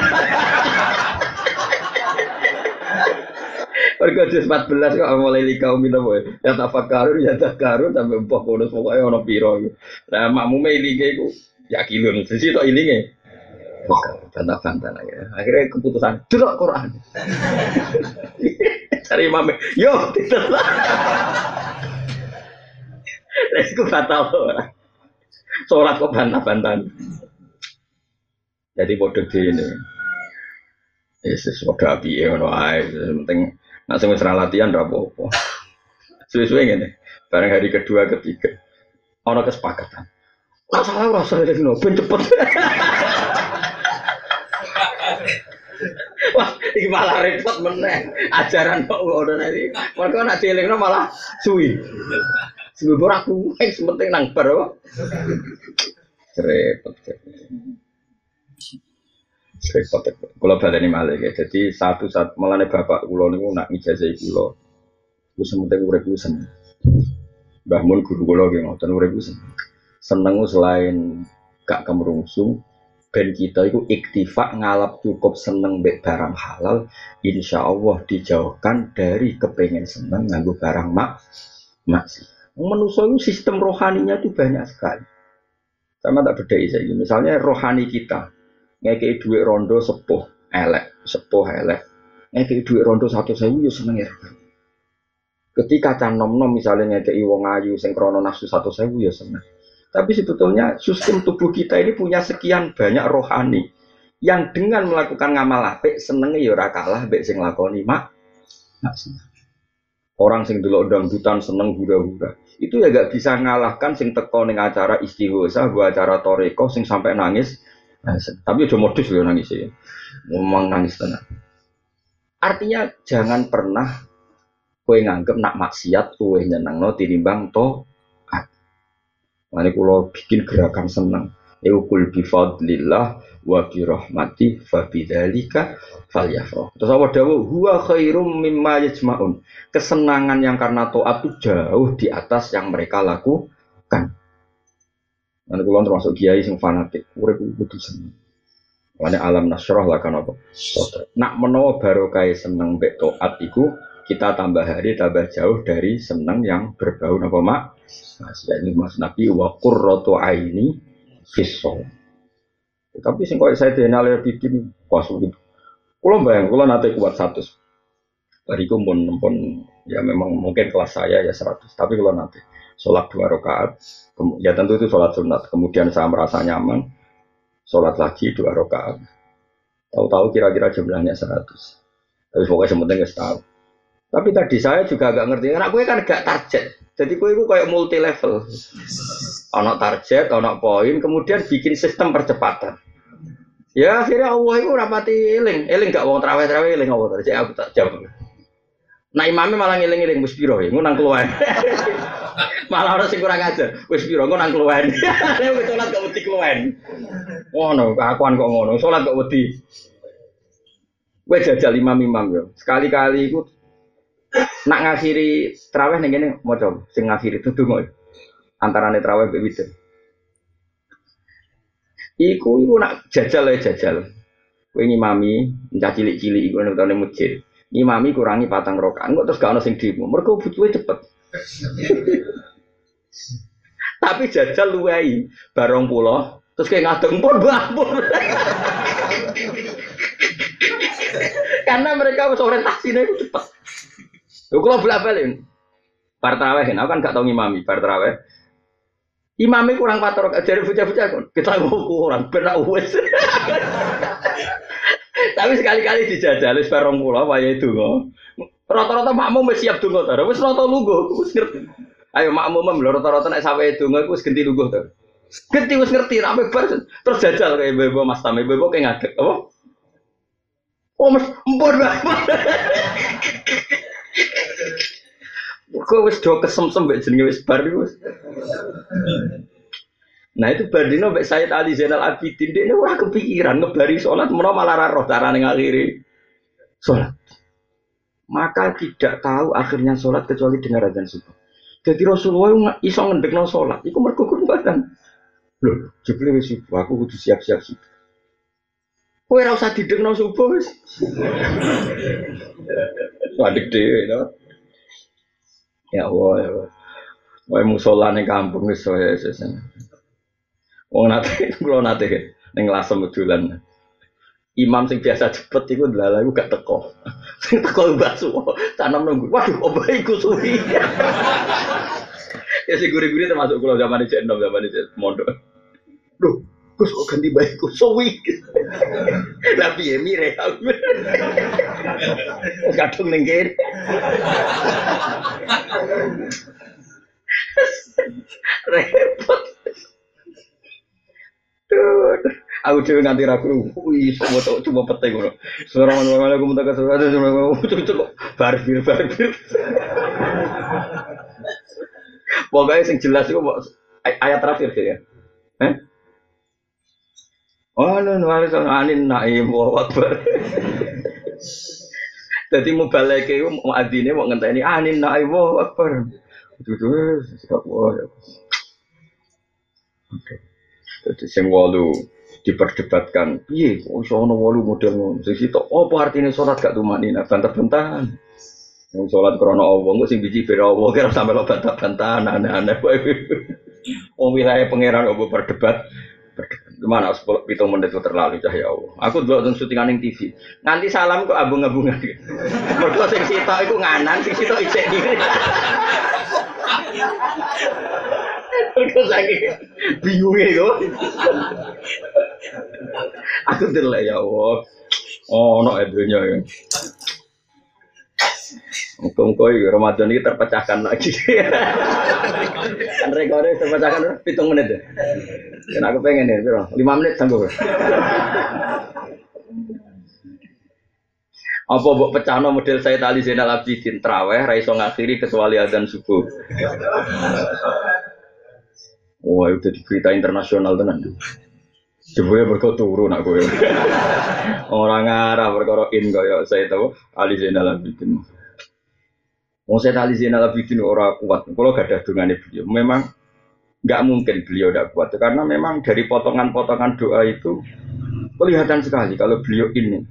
Mergo juz empat belas kok mulai likau minapa ya tafakkur ya takarun sampai mbah bonus pokoke ana pira. Lah makmume ilinge iku ya kilun, sisi tok ilinge. Bantah-bantah ya. Akhirnya keputusan delok Quran. Cari imam, yo ditelok. Resku batal ora. Salat kok bantah-bantahan. Jadi bodoh ini. Yesus bodoh api ngono ae, penting nek sing wis latihan ra apa-apa. Suwe-suwe ngene. Bareng hari kedua ketiga ana kesepakatan. Ora salah ora salah dino ben cepet. Wah, iki malah repot meneh. Ajaran kok ngono iki. Mergo nek dielingno malah suwi. Suwi ora kuwi penting nang bar kok. Repot. Repot. Kula baleni malih ya. Jadi satu saat melane bapak kula niku nak ngijazahi kula. Ku sementing urip ku seneng. Mbah Mun guru kula nggih ngoten urip ku seneng. Seneng selain gak kemrungsung ben kita itu iktifak ngalap cukup seneng mbek barang halal, insya Allah dijauhkan dari kepengen seneng nganggo barang mak maksi. Manusia itu sistem rohaninya itu banyak sekali. Sama tak bedai saya. Misalnya rohani kita ngekei duit rondo sepuh elek, sepuh elek. Ngekei duit rondo satu sewu yo seneng ya. Ketika can nom nom misalnya ngekei wong ayu sing krono nafsu satu sewu yo seneng. Tapi sebetulnya sistem tubuh kita ini punya sekian banyak rohani yang dengan melakukan ngamal apik senenge ya ora kalah mbek sing lakoni mak. Orang sing delok dangdutan seneng hura-hura. Itu ya gak bisa ngalahkan sing teko ning acara istighosa, gua acara toreko sing sampai nangis. Nah, tapi aja modus lho nangis ya. Ngomong nangis tenan. Artinya jangan pernah kowe nganggep nak maksiat kowe nyenengno tinimbang to. Mane kula bikin gerakan seneng. Eukul bifadlillah wa birahmati fabidzalika falyafrah. Terus apa dawuh huwa khairum mimma yajmaun. Kesenangan yang karena taat itu jauh di atas yang mereka lakukan. Nanti kula termasuk kiai sing fanatik, urip kudu seneng. Mane alam nasrah lah kan apa? Nak menawa barokah seneng mbek taat iku kita tambah hari tambah jauh dari seneng yang berbau napa mak. Nah, ini Mas Nabi wa qurratu aini fisol. Tapi sing koyo saya denal bikin pas gitu. Kulo bayang, kulo nate kuat seratus. Bariku pun pun ya memang mungkin kelas saya ya seratus. Tapi kulo nate sholat dua rakaat. Ya tentu itu sholat sunat. Kemudian saya merasa nyaman, sholat lagi dua rakaat. Tahu-tahu kira-kira jumlahnya seratus. Tapi pokoknya sementing nggak tahu. Tapi tadi saya juga agak ngerti. Karena gue kan gak target. Jadi gue itu kayak multi level. Ono target, ono poin, kemudian bikin sistem percepatan. Ya akhirnya Allah itu rapati eling, eling gak wong traweh-traweh eling Allah terus aku tak jawab. Nah imamnya malah ngiling-ngiling wis piro ya, ngono nang keluwen. Malah ora sing kurang ajar, wis piro ngono nang keluwen. Nek wis salat gak wedi keluwen. Ngono, kakuan kok ngono, salat kok wedi. Kowe jajal imam-imam yo. Sekali-kali iku nak ngakhiri traweh ning kene maca sing ngakhiri tudung antarane traweh mbek witir. Iku iku nak jajal ya jajal. Kowe ngimami cah cilik-cilik iku nang tane masjid. Ngimami kurangi patang rakaat kok terus gak ono sing dimo. Mergo butuhe cepet. Tapi jajal luwehi barong puluh terus kayak ngadeng pun bampur. Karena mereka wis orientasine iku cepet. Lho kula bolak-balik. Bar tarawih, aku kan gak tau ngimami bar tarawih. Imamnya kurang pator, dari bocah-bocah kita kurang benar wes. Tapi sekali-kali dijajal wis bareng kula wayahe donga. Rata-rata makmum wis siap donga ta. Wis rata lungguh, wis ngerti. Ayo makmum mem rata-rata nek sampe donga iku wis genti lungguh ta. Genti wis ngerti nek bar terus jajal kaya bebo Mas Tame bebo kaya ngadeg apa? Oh Mas empur banget. Kok wis do kesem-sem mbek jenenge wis bar iku. Nah itu Bardino mbek Sayyid Ali Zainal Abidin dekne ora kepikiran ngebari salat menawa malah ra roh carane ngakhiri salat. Maka tidak tahu akhirnya salat kecuali dengar azan subuh. Jadi Rasulullah iso ngendekno salat iku mergo kurban. Lho, jebule wis subuh aku kudu siap-siap sih. Kowe ora usah didengno subuh wis. Wadek dhewe to. Ya Allah, ya Allah. Wae musola ning kampung wis saya sesen. Wong nate kula nate ning Lasem dolan. Imam sing biasa cepet iku ndalah iku gak teko. Sing teko Mbah Suwo, tanam nunggu. Waduh, obah iku suwi. Ya sing guri-guri termasuk kula zaman iki enom zaman iki mondok. Duh, Gus kok ganti baikku suwi. Lah piye mire. Kadung ning kene. Repot. Tuh, aku dhewe nganti ragu. Wih, semua tok cuma pete ngono. Suara mana-mana aku minta kasih ada semua cocok barbir barbir. Pokoknya sing jelas itu ayat terakhir sih ya. Eh? Oh, no, no, wali anin naim wa akbar. Dadi mubaleke iku muadzine mau ngenteni anin naim wa akbar. Dudu sikap wae. Oke. Jadi sing wolu diperdebatkan, piye kok iso ana wolu model ngono. Sing sitok apa artine salat gak tumanina bantah-bantahan. Wong salat krana Allah kok sing biji bera Allah kira sampe lo bantah-bantahan aneh-aneh wae. Wong wilayah pangeran opo berdebat. Gimana sepuluh pitung menit itu terlalu cahaya Allah. Aku dulu nonton syutingan ning T V. Nganti salam kok abung-abungan. Mergo sing sitok iku nganan, sing sitok isik kiri. Mergo saking bingunge kok. Aku delek ya Allah. Oh, ono edonya ya. Muka-muka ini Ramadan ini terpecahkan lagi. Kan rekornya terpecahkan pitung menit ya. Dan aku pengen ya, lima menit sanggup. Apa buat pecahno model Sayyid Ali Zainal Abidin traweh ra iso ngakhiri kecuali adzan subuh. Wah, itu di berita internasional tenan. Jebule mergo turu nak kowe. Ora ngarah perkara in kaya saya tahu Ali Zainal Abidin. Wong saya Ali Zainal Abidin ora kuat. Kalau gak ada dungane beliau, memang nggak mungkin beliau tidak kuat karena memang dari potongan-potongan doa itu kelihatan sekali kalau beliau ini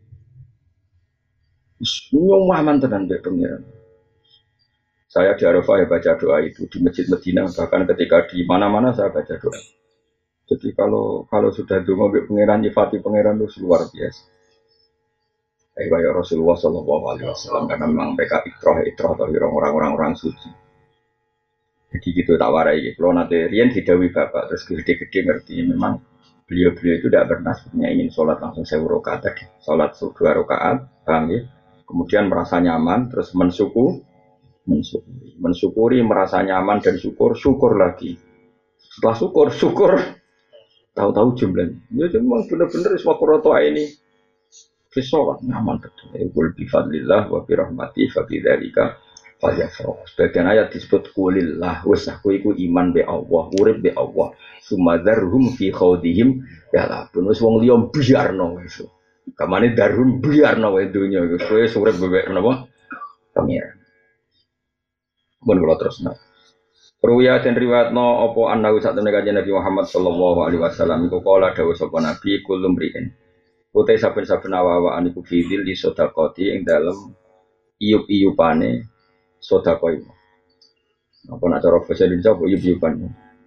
nyuwah mantenan be pengiran. Saya di Arafah ya baca doa itu di Masjid Medina, bahkan ketika di mana-mana saya baca doa. Jadi kalau kalau sudah donga be pengiran nyifati pengiran itu luar biasa. Kayak Rasulullah Shallallahu Alaihi Wasallam karena memang mereka ikrah ikrah atau orang-orang orang suci. Jadi gitu tak warai gitu. Kalau nanti Rian didawi bapak terus gede-gede ngerti memang beliau-beliau itu tidak pernah sebenarnya ingin sholat langsung sewu rakaat tadi. Sholat dua rakaat, paham ya? Kemudian merasa nyaman terus mensyukur, mensyukuri, mensyukuri merasa nyaman dan syukur, syukur lagi. Setelah syukur, syukur tahu-tahu jumlahnya. Ya memang benar-benar semua kurotoa ini. Sholat nyaman betul. Qul bi fadlillah wa bi rahmati fa bi dzalika falyafrahu. Sebagian ayat disebut qulillah wis aku iku iman be Allah, urip be Allah. Sumadzarhum fi khawdihim ya la bonus wong liya biarno wis. Kamane darhum biarno wae donya wis kowe urip bebek menapa? Pengiran. Mun kula terusna. Ruwiya dan riwayatno apa annahu satene kanjeng Nabi Muhammad sallallahu alaihi wasallam iku kala dawuh sapa Nabi kulum riin. Utai saben-saben awa-awaan iku fidil di sodakoti yang dalam iup-iupane sodakoi. Apa nak cara bahasa Indonesia apa iup-iupane?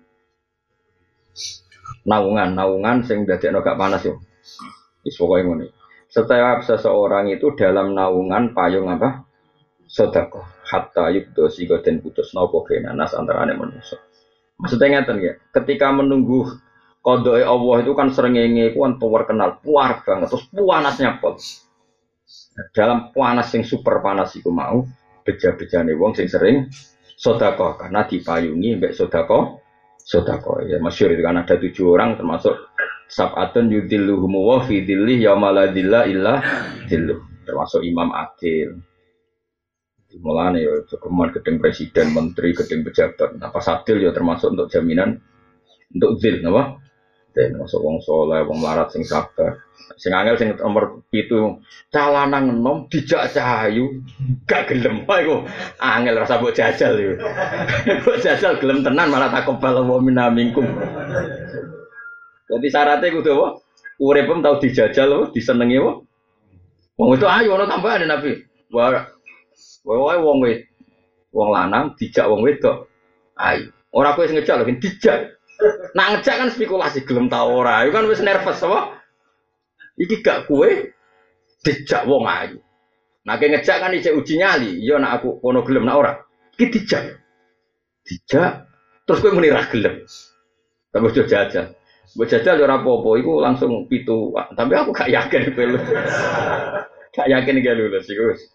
Naungan, naungan sing dadekno gak panas yo. Wis pokoke ngene. Setiap seseorang itu dalam naungan payung apa? Sedekah. Hatta yubdo sigo den putus napa genanas antarane manusia. Maksudnya ngeten ya, ketika menunggu qadae Allah itu kan srengenge ku kan terkenal puar banget terus panasnya pol. Dalam panas yang super panas iku mau beja-bejane wong sing sering sedekah karena dipayungi mbek sedekah sedekah ya masyhur itu kan ada tujuh orang termasuk sab'atun yudilluhum wa fi dhilli yauma la dhilla illa dhilluh termasuk Imam Adil. Mulane ya kemudian gedeng presiden, menteri, gedeng pejabat. Nah, pas adil ya termasuk untuk jaminan untuk zil napa? Dan masuk wong soleh, wong larat sing sabar. Sing angel sing nomor pitu calanan enom dijak cahayu gak gelem ae kok. Angel rasa mbok jajal yo. Mbok jajal gelem tenan malah takobal wa minna minkum. Jadi syaratnya kudu apa? Uripem tau dijajal apa disenengi apa? Wong itu ayo ana tambahane Nabi. Wah wae wong wed wong lanang dijak wong wedok. Ayo. Ora kowe sing ngejak lho, dijak. Nak ngejak kan spekulasi gelem ta ora. Iku kan wis nervous apa? Iki gak kue dijak wong ayu. Nah ke ngejak kan ijek uji nyali. Iya nak aku kono gelem nak ora. Iki dijak. Dijak terus kowe muni ra gelem. Tapi ojo jajal. Mbok jajal ya ora apa-apa iku langsung pitu. Tapi aku gak yakin kowe lulus. Gak yakin gak lulus iku wis.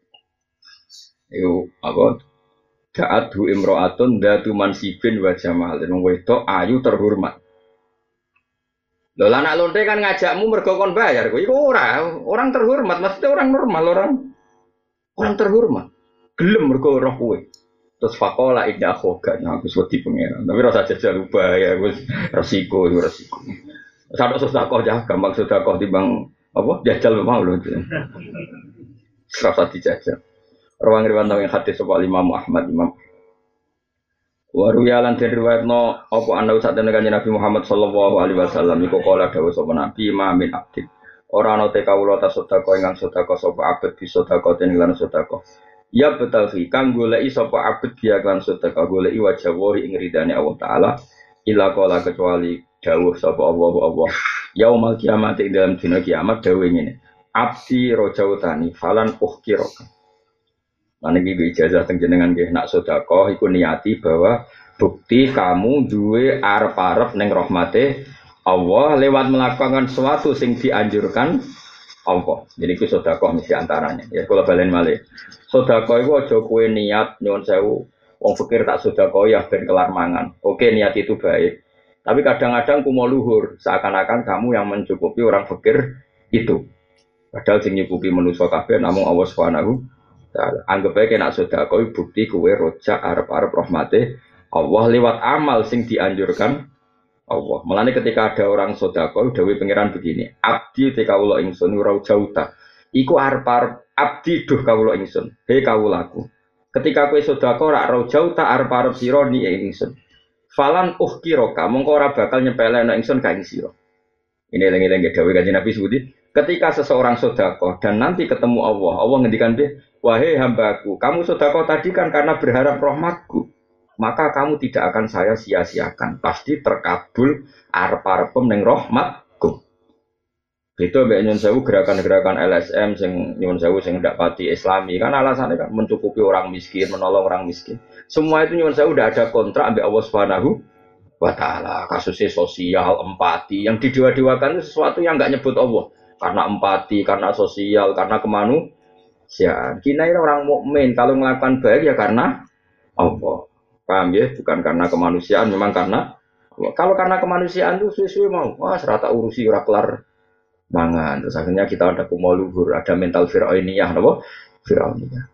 Iku apa? Da'atu imro'atun datu mansibin wa jamal. Wong wedok ayu terhormat. Lho anak lonte kan ngajakmu mergo kon bayar. Iku ora, orang terhormat, maksudnya orang normal, orang orang terhormat. Gelem mergo roh kowe. Terus faqala inna khoga aku wedi pengeran. Tapi rasa jajal bahaya, wis resiko, itu resiko. Sadok sedekah ya, gampang sedekah timbang apa? Jajal mau lho. Serasa dijajal. Rawang riwayat yang hadis sapa Imam Ahmad Imam Waru yalan den riwayatno apa ana usah den kanjeng Nabi Muhammad sallallahu alaihi wasallam iku kala dawuh sapa Nabi ma min abdin ora ana te kawula ta sedekah ingkang sedekah sapa abet bi sedekah ten lan sedekah ya betawi kang goleki sapa abet dia kan sedekah goleki wajah wori ing ridane Allah taala ila kala kecuali dawuh sapa Allah Allah yaumal kiamat ing dalam dina kiamat dawuh ngene abdi rojautani falan ukhkiraka. Lan iki ijazah teng jenengan nggih nak sedekah iku niati bahwa bukti kamu duwe arep-arep ning rahmate Allah lewat melakukan sesuatu sing dianjurkan Allah. Jadi iku sedekah mesti antaranya. Ya kula balen malih. Sedekah iku aja kowe niat nyuwun sewu wong fakir tak sedekah ya ben kelar mangan. Oke niat itu baik. Tapi kadang-kadang kumo luhur seakan-akan kamu yang mencukupi orang fakir itu. Padahal sing nyukupi manusa kabeh namung Allah Subhanahu anggap aja kena sedekah bukti kowe rojak arep-arep rahmate Allah lewat amal sing dianjurkan Allah. Mulane ketika ada orang sedekah dawuh pangeran begini, abdi te kawula ingsun ora jauta. Iku arep-arep abdi duh kawula ingsun. He kawulaku. Ketika kowe sedekah ora ora jauta arep-arep sira ni ingsun. Falan uhkiroka mongko ora bakal nyepelekno ingsun ka ing sira. Ini lengi-lengi dawuh Kanjeng Nabi Sudi, ketika seseorang sedekah dan nanti ketemu Allah, Allah ngendikan dia, wahai hambaku, kamu sedekah tadi kan karena berharap rahmatku, maka kamu tidak akan saya sia-siakan, pasti terkabul arep-arepem ning rahmatku. Itu mbek nyun sewu gerakan-gerakan L S M sing nyun sewu sing ndak pati Islami, kan alasannya kan mencukupi orang miskin, menolong orang miskin. Semua itu nyun sewu udah ada kontrak ambek Allah Subhanahu wa ta'ala, kasusnya sosial, empati, yang didewa-dewakan itu sesuatu yang nggak nyebut Allah, karena empati, karena sosial, karena kemanusiaan. Kita ini orang mukmin kalau melakukan baik ya karena Allah, paham ya? Bukan karena kemanusiaan, memang karena Allah. Kalau karena kemanusiaan itu suwe-suwe mau, wah serata urusi ora kelar mangan, terus akhirnya kita ada kumo luhur, ada mental fir'auniyah, apa? Fir'auniyah.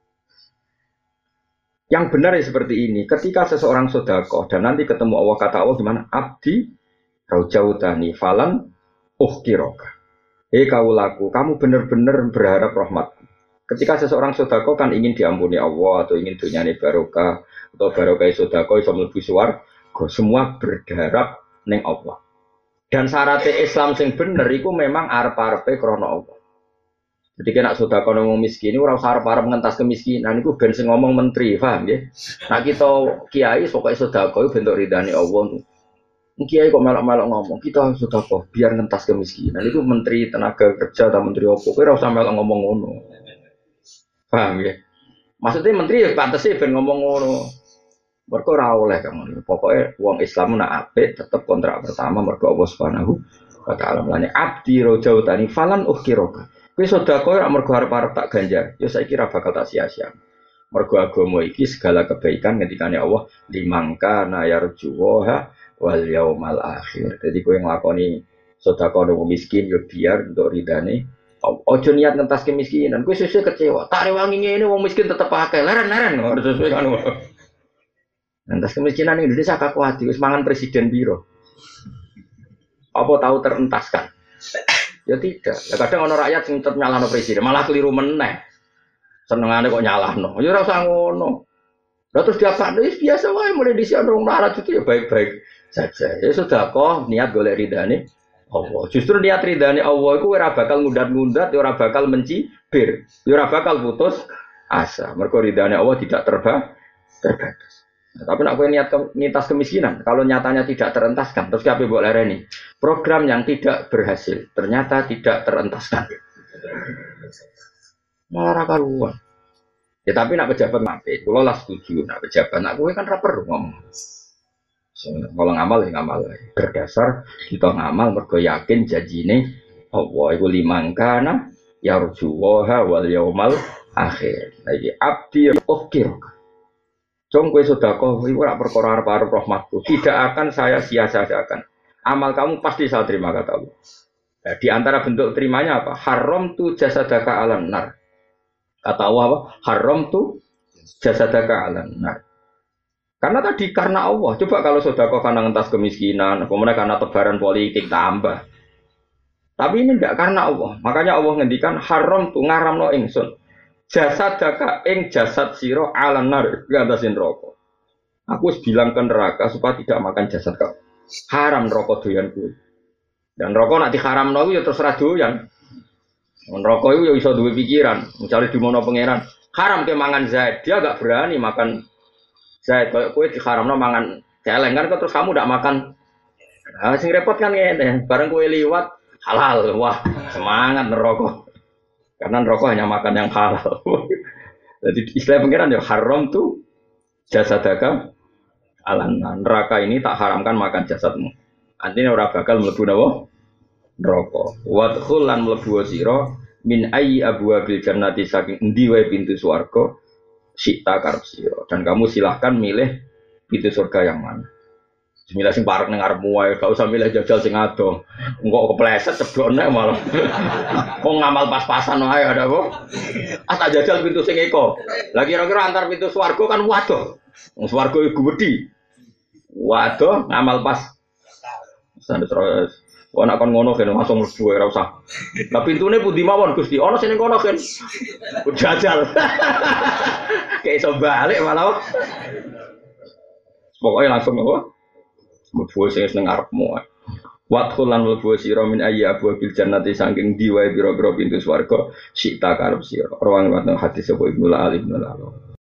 Yang benar ya seperti ini, ketika seseorang sedekah dan nanti ketemu Allah, kata Allah gimana? Abdi raujautani falan uhkiroka. Hei kawulaku, kamu benar-benar berharap rahmatku. Ketika seseorang sedekah kan ingin diampuni Allah atau ingin dunyane barokah atau barokah sedekah iso mlebu swarga, semua berharap ning Allah. Dan syaratnya Islam sing bener iku memang arep-arepe krana Allah. Jadi kena sudah kalau ngomong miskin, orang sarap-sarap mengentas kemiskinan, itu ben sing ngomong menteri, paham ya? Nah kita kiai pokoknya sudah kau bentuk ridhani Allah. Kiai kok melok-melok ngomong, kita sudah kau biar ngentas kemiskinan, itu menteri tenaga kerja atau menteri apa? Kau rasa melok ngomong ngono, paham ya? Maksudnya menteri ya pantas sih ben ngomong ngono. Mereka rawoleh kamu, pokoknya uang Islam nak apik tetap kontrak pertama mereka Allah Subhanahu wa Ta'ala melani abdi rojautani falan uhkiroka. Kowe sedekah ora mergo arep-arep tak ganjar, ya saiki ora bakal tak sia-sia. Mergo agama iki segala kebaikan ngendikane Allah limangka na yarjuha wal yaumal akhir. Jadi kowe nglakoni sedekah nang miskin ya biar untuk ridane. Ojo niat ngentas kemiskinan, kowe sesuk kecewa. Tak rewangi ngene wong miskin tetep akeh, leren-leren ngono sesuai kan. Ngentas kemiskinan ning Indonesia kakek kuat wis mangan presiden biro. Apa tahu terentaskan? Ya tidak. Ya kadang ono rakyat sing tetep nyalahno presiden, malah keliru meneh. Senengane kok nyalahno. Ya ora usah ngono. Lah terus diapakno wis biasa wae mulai dhisik ono melarat itu ya baik-baik saja. Ya sudah kok niat golek ridane Allah. Justru niat ridane Allah iku ora bakal ngundat-ngundat, ya ora bakal mencibir, ya ora bakal putus asa. Mergo ridane Allah tidak terba terbatas. Nah, tapi nak kowe niat ke, nitas kemiskinan, kalau nyatanya tidak terentaskan, terus siapa buat lereni? Program yang tidak berhasil, ternyata tidak terentaskan. Malah karuan. Ya tapi nak pejabat mampir, kalau lah setuju, nak pejabat, nak kowe kan rapper ngomong. So, kalau ngamal ya ngamal, berdasar kita ngamal, mergo yakin janjine Allah iku limangkana yarjuwaha wal yaumal akhir. Lagi abdi ukir. Jom kowe sedekah iku ora perkara arep-arep rahmatku. Tidak akan saya sia-siakan. Amal kamu pasti saya terima kata Allah. Nah, di antara bentuk terimanya apa? Haram tu jasadaka alan nar. Kata Allah apa? Haram tu jasadaka alan nar. Karena tadi karena Allah. Coba kalau sedekah karena ngentas kemiskinan, kemudian karena tebaran politik tambah. Tapi ini tidak karena Allah. Makanya Allah ngendikan haram tu ngaramno ingsun. Jasadaka ing jasad siro ala nar ngatasin rokok. Aku harus bilang ke neraka supaya tidak makan jasad kau. Haram rokok doyan kuwi. Dan rokok nak diharamno ya terserah doyan. Rokok itu ya iso duwe pikiran, mencari di mana pangeran. Haram ke mangan Zaid, dia agak berani makan Zaid. Kalau kowe diharamno mangan celeng kan terus kamu tidak makan. Nah, sing repot kan ngene, bareng kowe liwat halal. Wah, semangat neraka. Karena rokok hanya makan yang halal. Jadi istilah pengiran ya haram tuh jasadaka alan neraka ini tak haramkan makan jasadmu. Artinya ora bakal mlebu napa? Neraka. Wadkhul lan mlebu sira min ayyi abwabil jannati saking endi wae pintu swarga sita karep sira. Dan kamu silahkan milih pintu surga yang mana. Bismillah sing parek ning arepmu wae, gak usah milih jajal sing ado. Engko kepleset ceblokne malah. Kok ngamal pas-pasan wae ada kok. Ah tak jajal pintu sing eko. Lah kira-kira antar pintu swarga kan waduh. Wong swarga iku gedhi. Waduh ngamal pas Sandes terus. Wah nak kon ngono kan langsung mlebu ora usah. Lah pintune pundi mawon Gusti? Ana sing kono kan. Jajal. Kayak iso balik malah. Pokoknya langsung apa? Mlebu sing nang ngarepmu. Wadkhul lan mlebu sira min ayya abwabil jannati saking diwae pira-pira pintu swarga sik ta karep sira. Rawang wateng hadis sapa Ibnu Al Ibnu Al.